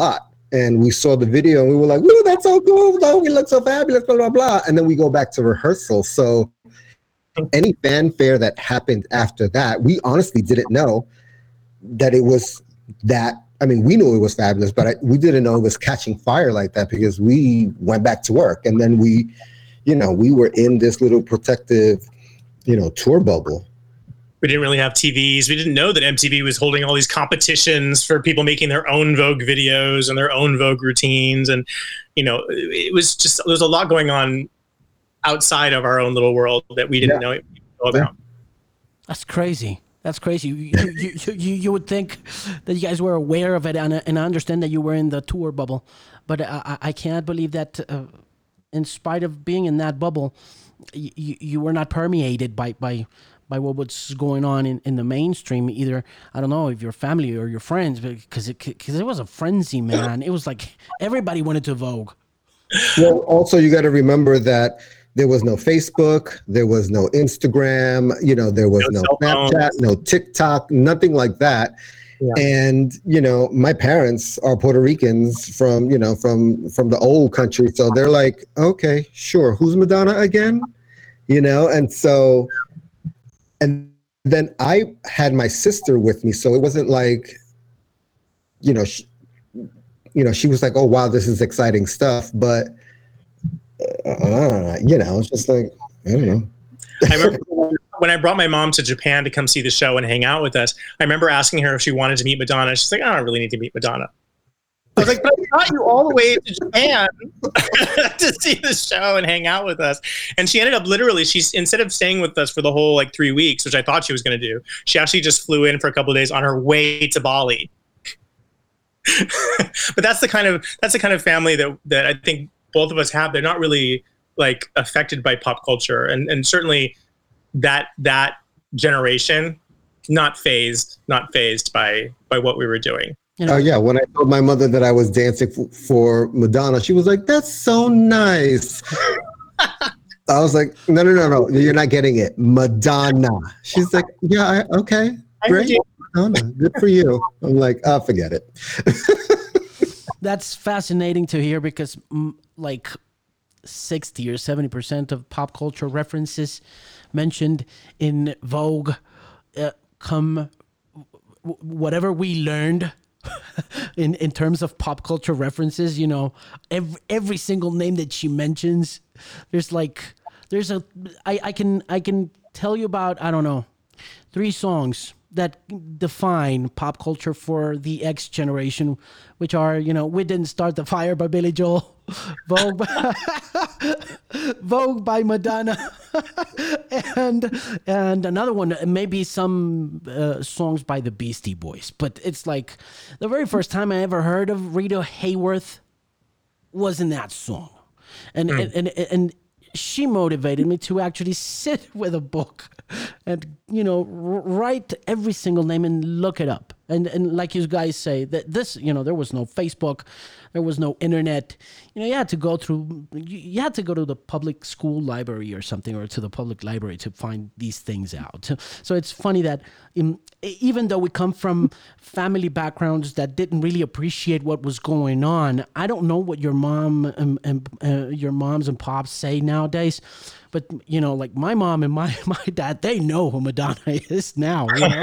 and we saw the video and we were like, "Woo, that's so cool! Oh, we look so fabulous!" Blah blah blah. And then we go back to rehearsal. So any fanfare that happened after that, we honestly didn't know that it was that. I mean, we knew it was fabulous, but we didn't know it was catching fire like that because we went back to work, and then we were in this little protective, tour bubble. We didn't really have TVs. We didn't know that MTV was holding all these competitions for people making their own Vogue videos and their own Vogue routines. And, it was just, there's a lot going on outside of our own little world that we didn't know about. That's crazy. That's crazy. You would think that you guys were aware of it, and I understand that you were in the tour bubble, but I can't believe that in spite of being in that bubble, you were not permeated by what was going on in the mainstream, either, I don't know, if your family or your friends, because it was a frenzy, man. It was like everybody wanted to Vogue. Well, also you got to remember that there was no Facebook, there was no Instagram, there was no Snapchat, no TikTok, nothing like that. Yeah. And, my parents are Puerto Ricans from the old country. So they're like, okay, sure. Who's Madonna again? And so, and then I had my sister with me. So it wasn't like, she was like, oh, wow, this is exciting stuff. But, it's just like, I don't know. I remember when I brought my mom to Japan to come see the show and hang out with us, I remember asking her if she wanted to meet Madonna. She's like, I don't really need to meet Madonna. I was like, but I brought you all the way to Japan to see the show and hang out with us. And she ended up instead of staying with us for the whole 3 weeks, which I thought she was going to do, she actually just flew in for a couple of days on her way to Bali. But that's the kind of family that I think both of us have. They're not really affected by pop culture, and certainly that generation not phased by what we were doing. Oh yeah, when I told my mother that I was dancing for Madonna, she was like, "That's so nice." I was like, "No, you're not getting it, Madonna." She's like, "Yeah, okay, great, Madonna, good for you." I'm like, "Oh, forget it." That's fascinating to hear because 60 or 70% of pop culture references mentioned in Vogue come whatever we learned in terms of pop culture references. Every single name that she mentions, I can tell you about, I don't know, 3 songs that define pop culture for the X generation, which are, We Didn't Start the Fire by Billy Joel, Vogue by Madonna, and another one, maybe some songs by the Beastie Boys. But it's like the very first time I ever heard of Rita Hayworth was in that song. And she motivated me to actually sit with a book and, write every single name and look it up. And like you guys say, that this, there was no Facebook, there was no internet. You had to go to the public school library or something, or to the public library to find these things out. So it's funny that even though we come from family backgrounds that didn't really appreciate what was going on, I don't know what your mom and your moms and pops say nowadays, but my mom and my dad, they know who Madonna is now.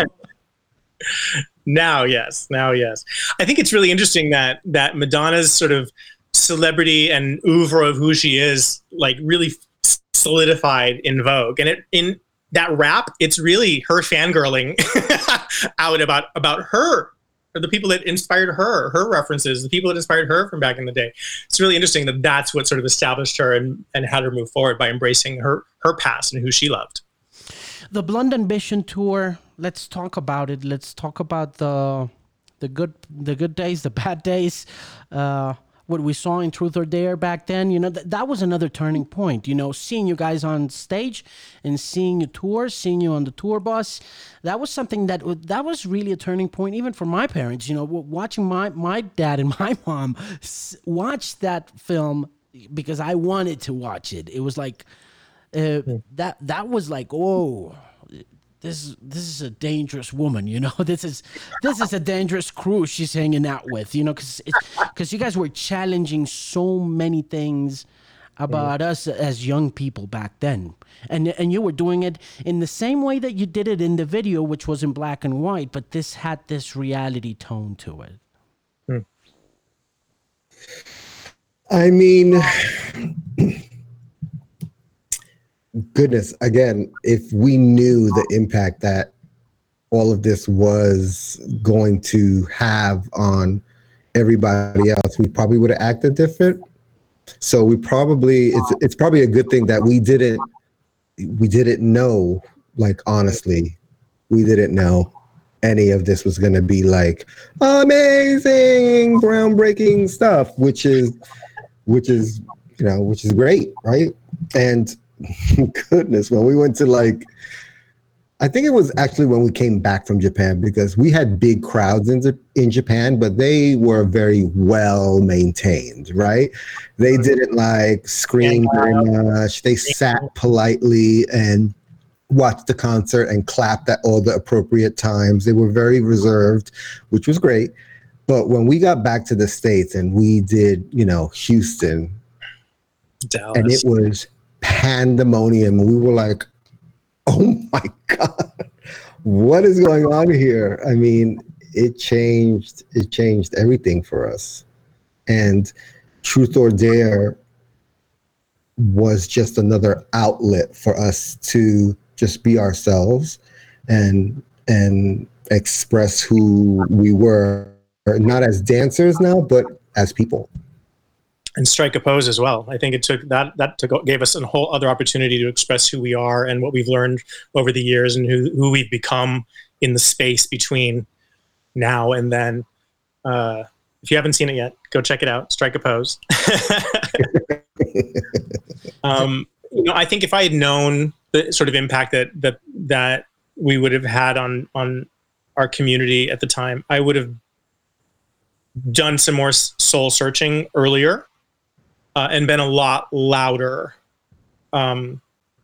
Now, yes. I think it's really interesting that Madonna's sort of celebrity and oeuvre of who she is, really solidified in Vogue. And in that rap, it's really her fangirling out about her, or the people that inspired her references, the people that inspired her from back in the day. It's really interesting that that's what sort of established her and had her move forward by embracing her past and who she loved. The Blonde Ambition tour, let's talk about it. Let's talk about the good days, the bad days, what we saw in Truth or Dare back then. That was another turning point. Seeing you guys on stage and seeing you tour, seeing you on the tour bus, that was something that was really a turning point, even for my parents. Watching my dad and my mom watch that film because I wanted to watch it. It was like that was like, oh, this is a dangerous woman, you know. This is a dangerous crew she's hanging out with, you know, because you guys were challenging so many things about us as young people back then, and you were doing it in the same way that you did it in the video, which was in black and white, but this had this reality tone to it. I mean, goodness, again, if we knew the impact that all of this was going to have on everybody else, we probably would have acted different. So we probably, it's probably a good thing that we didn't know, like, honestly, we didn't know any of this was going to be like amazing, groundbreaking stuff, which is great, right? And goodness, when we went to, like, I think it was actually when we came back from Japan, because we had big crowds in Japan, but they were very well maintained, right? They didn't like scream very much. They sat politely and watched the concert and clapped at all the appropriate times. They were very reserved, which was great. But when we got back to the States and we did, Houston, Dallas, and it was pandemonium, we were like, oh my God, what is going on here? I mean, it changed everything for us. And Truth or Dare was just another outlet for us to just be ourselves and express who we were, not as dancers now, but as people. And strike a pose as well. I think it took gave us a whole other opportunity to express who we are and what we've learned over the years and who we've become in the space between now and then. If you haven't seen it yet, go check it out. Strike a pose. I think if I had known the sort of impact that we would have had on our community at the time, I would have done some more soul searching earlier. And been a lot louder. One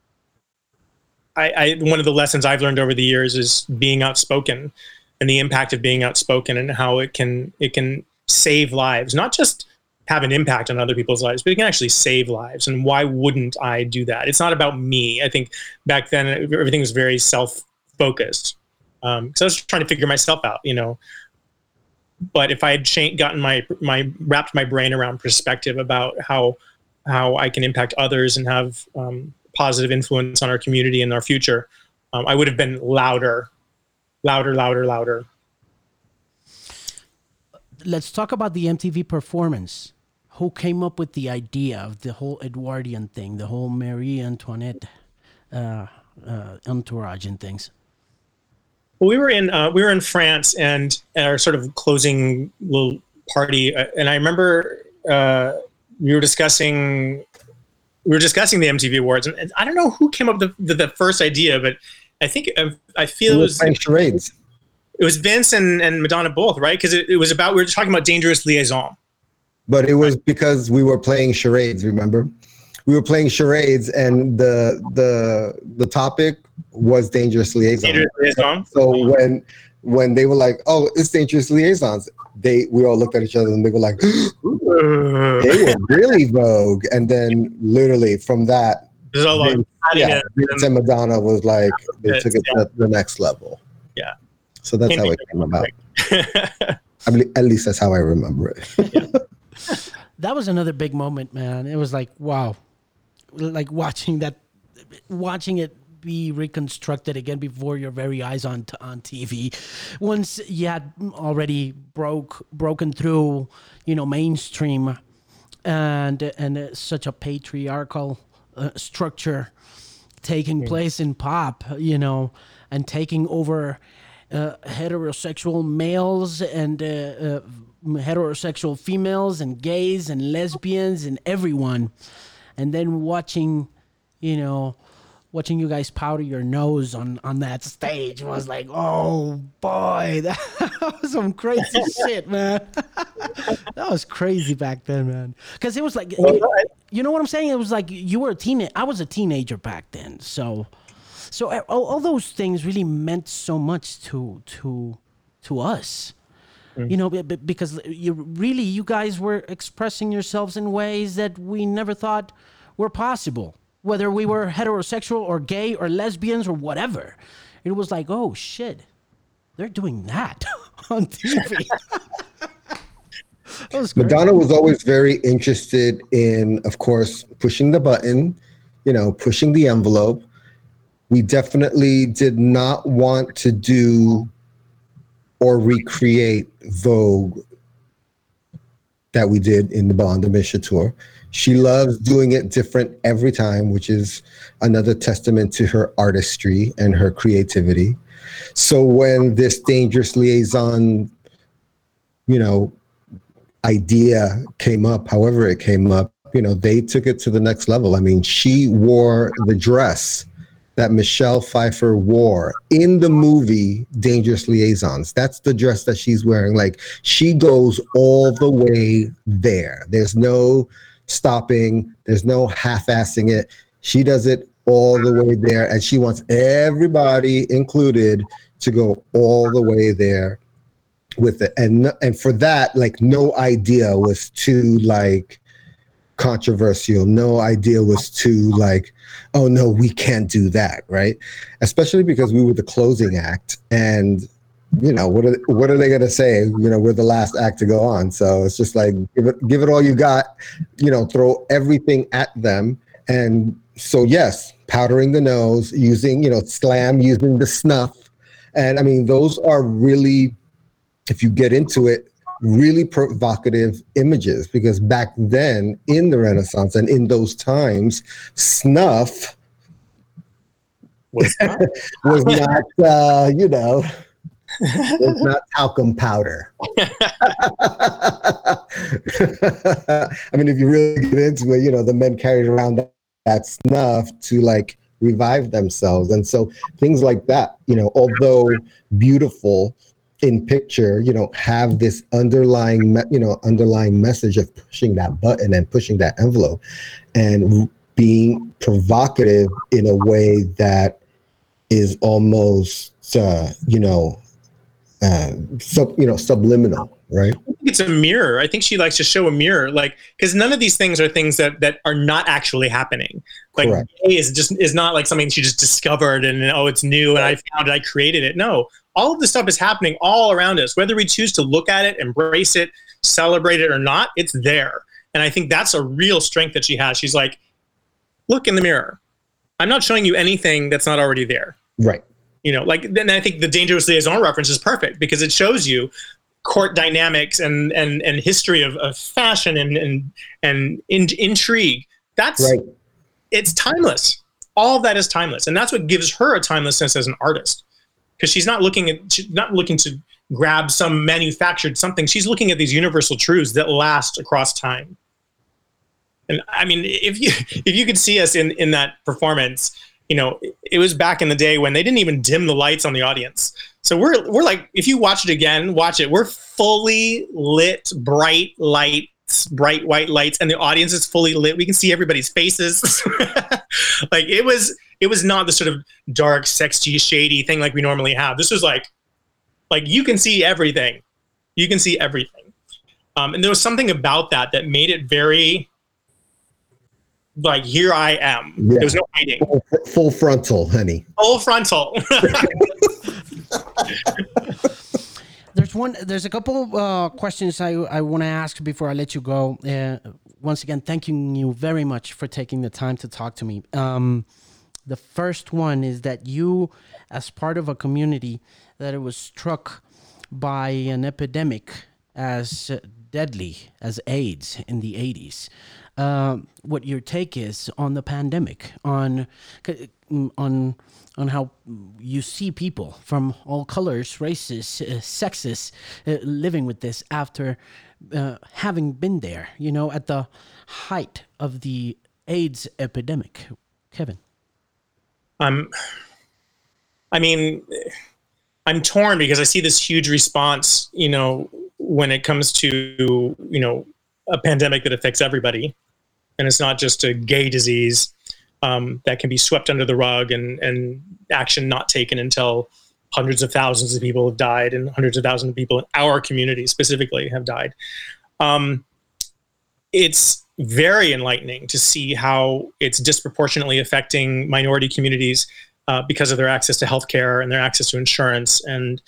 of the lessons I've learned over the years is being outspoken, and the impact of being outspoken, and how it can save lives, not just have an impact on other people's lives, but it can actually save lives. And why wouldn't I do that? It's not about me. I think back then everything was very self-focused. So I was trying to figure myself out, But if I had wrapped my brain around perspective about how I can impact others and have positive influence on our community and our future, I would have been louder. Let's talk about the MTV performance. Who came up with the idea of the whole Edwardian thing, the whole Marie Antoinette entourage and things? Well, we were in France, and our sort of closing little party, and I remember we were discussing the MTV Awards, and I don't know who came up with the first idea, but I think I feel it was playing charades. It was Vince and Madonna both, right? Because it was about, we were talking about Dangerous Liaison. But it was because we were playing charades. Remember, we were playing charades, and the topic was Dangerous Liaison. Dangerous Liaison. So when they were like, "Oh, it's Dangerous Liaisons," we all looked at each other and they were like, "They were really Vogue." And then literally from that, Vince and Madonna was like, they took it to the next level. Yeah. So that's how it came about. I mean, at least that's how I remember it. Yeah. That was another big moment, man. It was like, wow, like watching it be reconstructed again before your very eyes on TV. Once you had already broken through, mainstream, and such a patriarchal structure taking place in pop, and taking over heterosexual males and heterosexual females and gays and lesbians and everyone, and then watching you guys powder your nose on that stage was like, oh boy, that was some crazy shit, man. That was crazy back then, man. Because it was like, you know what I'm saying? It was like you were a teenager. I was a teenager back then, so So all those things really meant so much to us. You know, because you guys were expressing yourselves in ways that we never thought were possible, whether we were heterosexual or gay or lesbians or whatever. It was like, oh shit, they're doing that on TV. Madonna was always very interested in, of course, pushing the button, pushing the envelope. We definitely did not want to do or recreate Vogue that we did in the Bond Amisha tour. She loves doing it different every time, which is another testament to her artistry and her creativity. So when this Dangerous Liaison, idea came up, however it came up, they took it to the next level. I mean, she wore the dress that Michelle Pfeiffer wore in the movie Dangerous Liaisons. That's the dress that she's wearing. Like, she goes all the way there. There's no stopping. There's no half-assing it. She does it all the way there, and she wants everybody included to go all the way there with it. And for that, like, no idea was too, like, controversial. No idea was too, like, oh no, we can't do that, right? Especially because we were the closing act, and what are they going to say? We're the last act to go on, so it's just like, give it all you got, throw everything at them. And so yes, powdering the nose, using Slam, using the snuff, and I mean, those are really, if you get into it, really provocative images, because back then in the Renaissance and in those times, snuff was not, was not talcum powder. I mean, if you really get into it, the men carried around that snuff to, like, revive themselves. And so things like that, although beautiful in picture, have this underlying message of pushing that button and pushing that envelope and being provocative in a way that is almost, subliminal, right? I think it's a mirror. I think she likes to show a mirror, like, because none of these things are things that are not actually happening. Like, gay is not like something she just discovered and, oh, it's new and I found it, I created it. No, all of this stuff is happening all around us. Whether we choose to look at it, embrace it, celebrate it or not, it's there. And I think that's a real strength that she has. She's like, look in the mirror. I'm not showing you anything that's not already there. Right. Then I think the Dangerous Liaison reference is perfect because it shows you court dynamics and history of fashion and intrigue. That's right. It's timeless. All of that is timeless. And that's what gives her a timelessness as an artist. Because she's not looking to grab some manufactured something. She's looking at these universal truths that last across time. And I mean, if you could see us in that performance, it was back in the day when they didn't even dim the lights on the audience. So we're like, if you watch it again, watch it. We're fully lit, bright lights, bright white lights, and the audience is fully lit. We can see everybody's faces. Like, it was not the sort of dark, sexy, shady thing like we normally have. This was like you can see everything. You can see everything. And there was something about that made it very, like, here I am. Yeah. There was no hiding. Full frontal, honey. Full frontal. There's a couple questions I want to ask before I let you go. Once again, thanking you very much for taking the time to talk to me. The first one is that you, as part of a community that it was struck by an epidemic as deadly as AIDS in the 80s, what your take is on the pandemic, on how you see people from all colors, races, sexes living with this after having been there, at the height of the AIDS epidemic. Kevin. I mean, I'm torn because I see this huge response, when it comes to, a pandemic that affects everybody. And it's not just a gay disease. that can be swept under the rug and action not taken until hundreds of thousands of people have died and hundreds of thousands of people in our community specifically have died. It's very enlightening to see how it's disproportionately affecting minority communities because of their access to healthcare and their access to insurance, and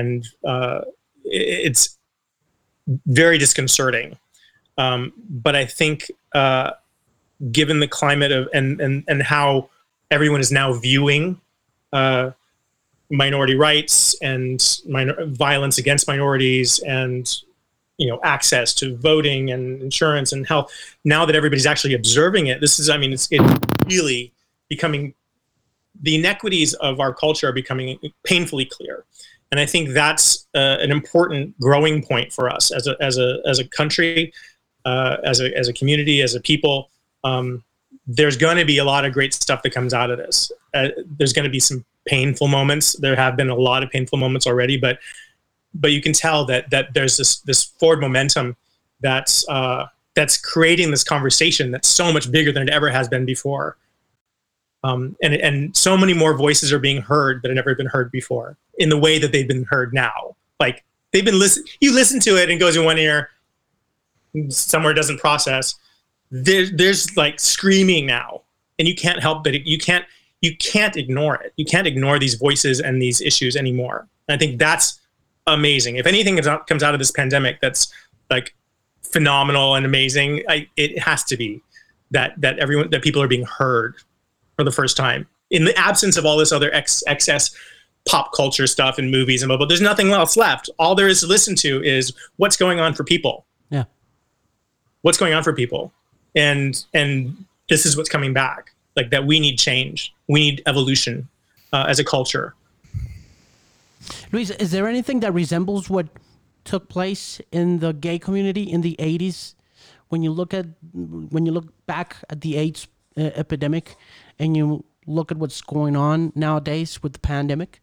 it's very disconcerting. But I think given the climate of and how everyone is now viewing minority rights and violence against minorities and access to voting and insurance and health, now that everybody's actually observing it, it's really becoming, the inequities of our culture are becoming painfully clear. And I think that's an important growing point for us as a country, as a community, as a people. There's going to be a lot of great stuff that comes out of this. There's going to be some painful moments. There have been a lot of painful moments already, but you can tell that there's this forward momentum that's creating this conversation that's so much bigger than it ever has been before. And so many more voices are being heard that have never been heard before in the way that they've been heard now. Like they've been you listen to it and it goes in one ear, somewhere it doesn't process. There's like screaming now, and you can't help but you can't ignore it. You can't ignore these voices and these issues anymore. And I think that's amazing. If anything comes out of this pandemic that's like phenomenal and amazing, it has to be that people are being heard for the first time in the absence of all this other excess pop culture stuff and movies and blah, blah. There's nothing else left. All there is to listen to is what's going on for people. Yeah. What's going on for people. And this is what's coming back. Like that we need change. We need evolution as a culture. Luis, is there anything that resembles what took place in the gay community in the 80s? When you look back at the AIDS epidemic and you look at what's going on nowadays with the pandemic?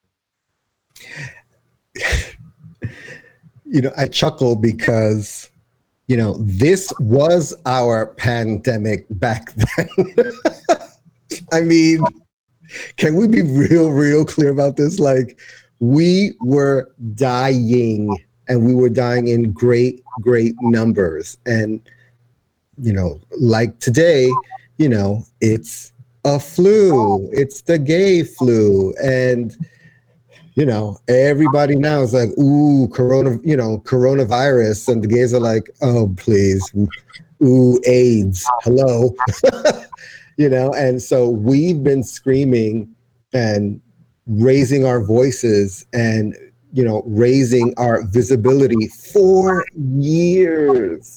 I chuckle because, this was our pandemic back then. I mean, can we be real clear about this? Like, we were dying, and we were dying in great numbers. And, like today, it's a flu, it's the gay flu. And, everybody now is like, ooh, coronavirus. And the gays are like, oh, please. Ooh, AIDS. Hello. And so we've been screaming and raising our voices and, raising our visibility for years.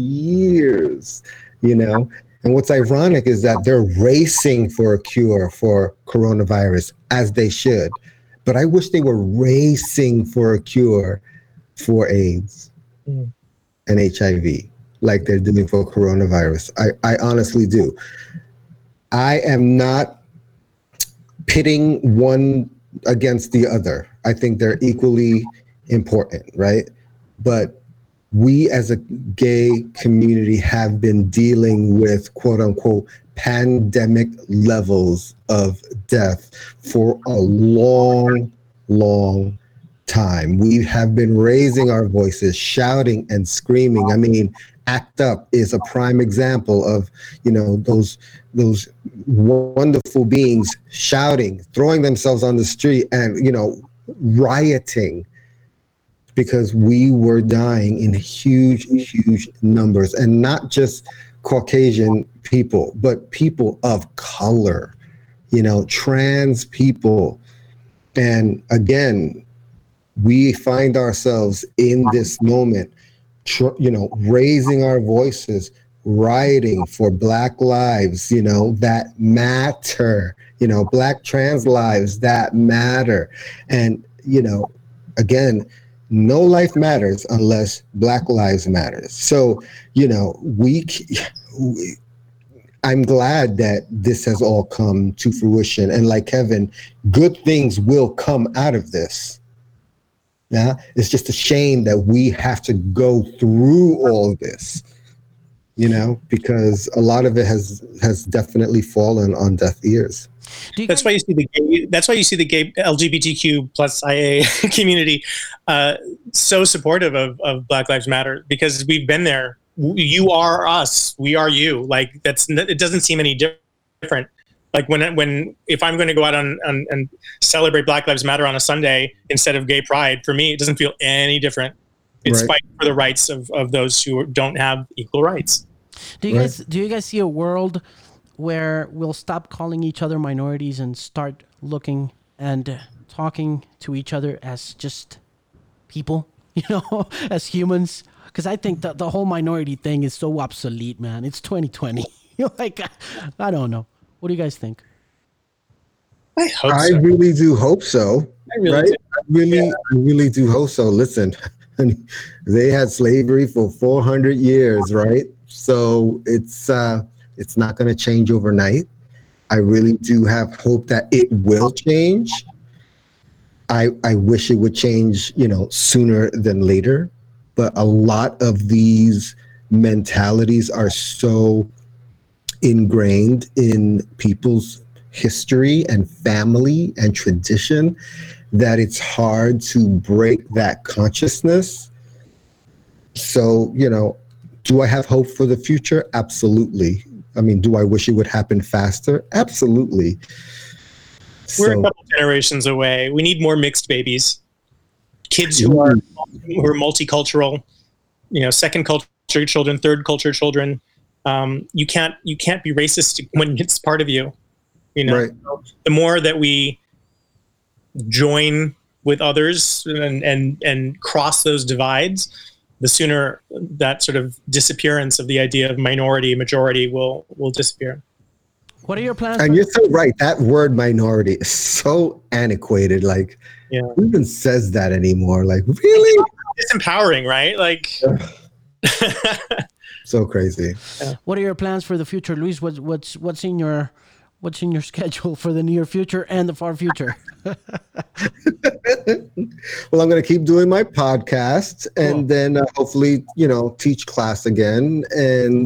And what's ironic is that they're racing for a cure for coronavirus, as they should. But I wish they were racing for a cure for AIDS and HIV, like they're doing for coronavirus. I honestly do. I am not pitting one against the other. I think they're equally important, right? But we as a gay community have been dealing with quote unquote pandemic levels of death for a long time. We have been raising our voices, shouting and screaming. I mean, ACT UP is a prime example of, those wonderful beings shouting, throwing themselves on the street and, rioting, because we were dying in huge numbers, and not just Caucasian people, but people of color, trans people. And again, we find ourselves in this moment, raising our voices, rioting for Black lives, that matter, Black trans lives that matter. And, again, no life matters unless Black lives matter. So, I'm glad that this has all come to fruition. And like Kevin, good things will come out of this. Yeah, it's just a shame that we have to go through all this. because a lot of it has definitely fallen on deaf ears. That's why you see the gay LGBTQ plus IA community so supportive of Black Lives Matter, because we've been there. You are us, we are you. Like it doesn't seem any different. Like if I'm going to go out and celebrate Black Lives Matter on a Sunday instead of Gay Pride, for me it doesn't feel any different. It's fighting for the rights of those who don't have equal rights. Do you guys see a world where we'll stop calling each other minorities and start looking and talking to each other as just people, as humans? Because I think that the whole minority thing is so obsolete, man. It's 2020. I don't know. What do you guys think? I hope I so. really do hope so. I really do hope so. Listen, they had slavery for 400 years, right? So it's not going to change overnight. I really do have hope that it will change. I wish it would change, sooner than later. But a lot of these mentalities are so ingrained in people's history and family and tradition that it's hard to break that consciousness. So, do I have hope for the future? Absolutely. I mean, do I wish it would happen faster? Absolutely. We're a couple generations away. We need more mixed babies. Kids who are multicultural, second culture children, third culture children. You can't be racist when it's part of you. Right. So the more that we join with others and cross those divides, the sooner that sort of disappearance of the idea of minority majority will disappear. What are your plans? And you're so right. That word minority is so antiquated. Like, who even says that anymore? Like, really? It's empowering, right? Like, so crazy. Yeah. What are your plans for the future, Luis? What's in your schedule for the near future and the far future? Well, I'm going to keep doing my podcast and then hopefully, teach class again and,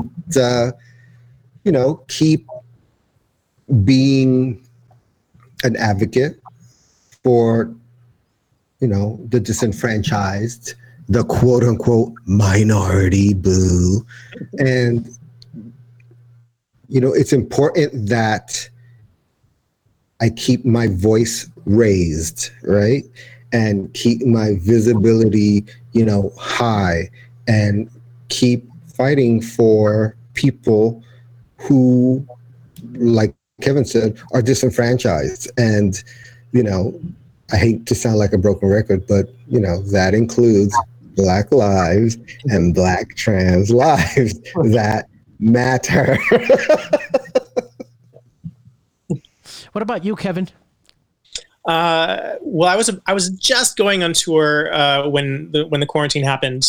keep being an advocate for, the disenfranchised, the quote unquote minority, boo. And, it's important that I keep my voice raised, right? And keep my visibility, high, and keep fighting for people who, like Kevin said, are disenfranchised. And, I hate to sound like a broken record, but, that includes Black lives and Black trans lives that matter. What about you, Kevin? Well, I was just going on tour when the quarantine happened.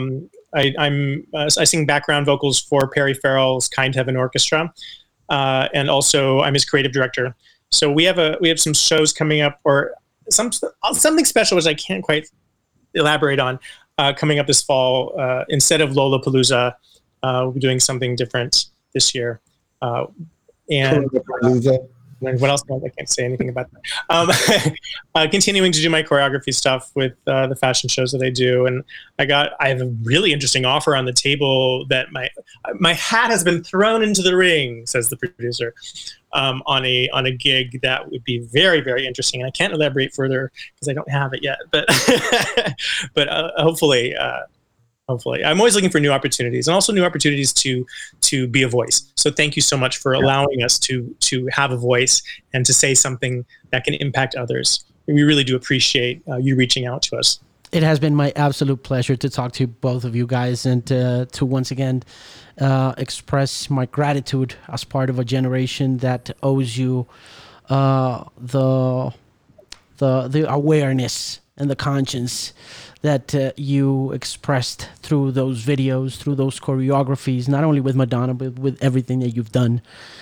I sing background vocals for Perry Farrell's Kind Heaven Orchestra, and also I'm his creative director. So we have some shows coming up, or something special which I can't quite elaborate on, coming up this fall. Instead of Lollapalooza, we'll be doing something different this year. And what else? I can't say anything about that. Continuing to do my choreography stuff with the fashion shows that I do, and I have a really interesting offer on the table that my hat has been thrown into the ring, says the producer, on a gig that would be very, very interesting. And I can't elaborate further because I don't have it yet, but but hopefully. Hopefully, I'm always looking for new opportunities, and also new opportunities to be a voice. So thank you so much for allowing us to have a voice and to say something that can impact others. We really do appreciate you reaching out to us. It has been my absolute pleasure to talk to both of you guys and to once again express my gratitude as part of a generation that owes you the awareness and the conscience that you expressed through those videos, through those choreographies, not only with Madonna, but with everything that you've done.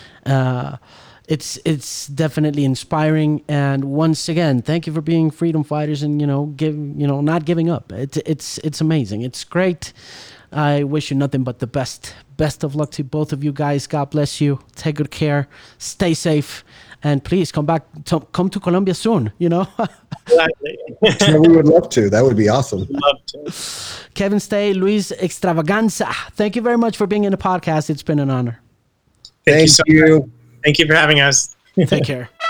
It's definitely inspiring. And once again, thank you for being freedom fighters and, not giving up. It's amazing. It's great I wish you nothing but the best. Best of luck to both of you guys. God bless you. Take good care. Stay safe. And please come to Colombia soon, you know? Gladly. Yeah, we would love to. That would be awesome. Love to. Kevin Stay, Luis Extravaganza, thank you very much for being in the podcast. It's been an honor. Thank you. Thank you. Thank you for having us. Take care.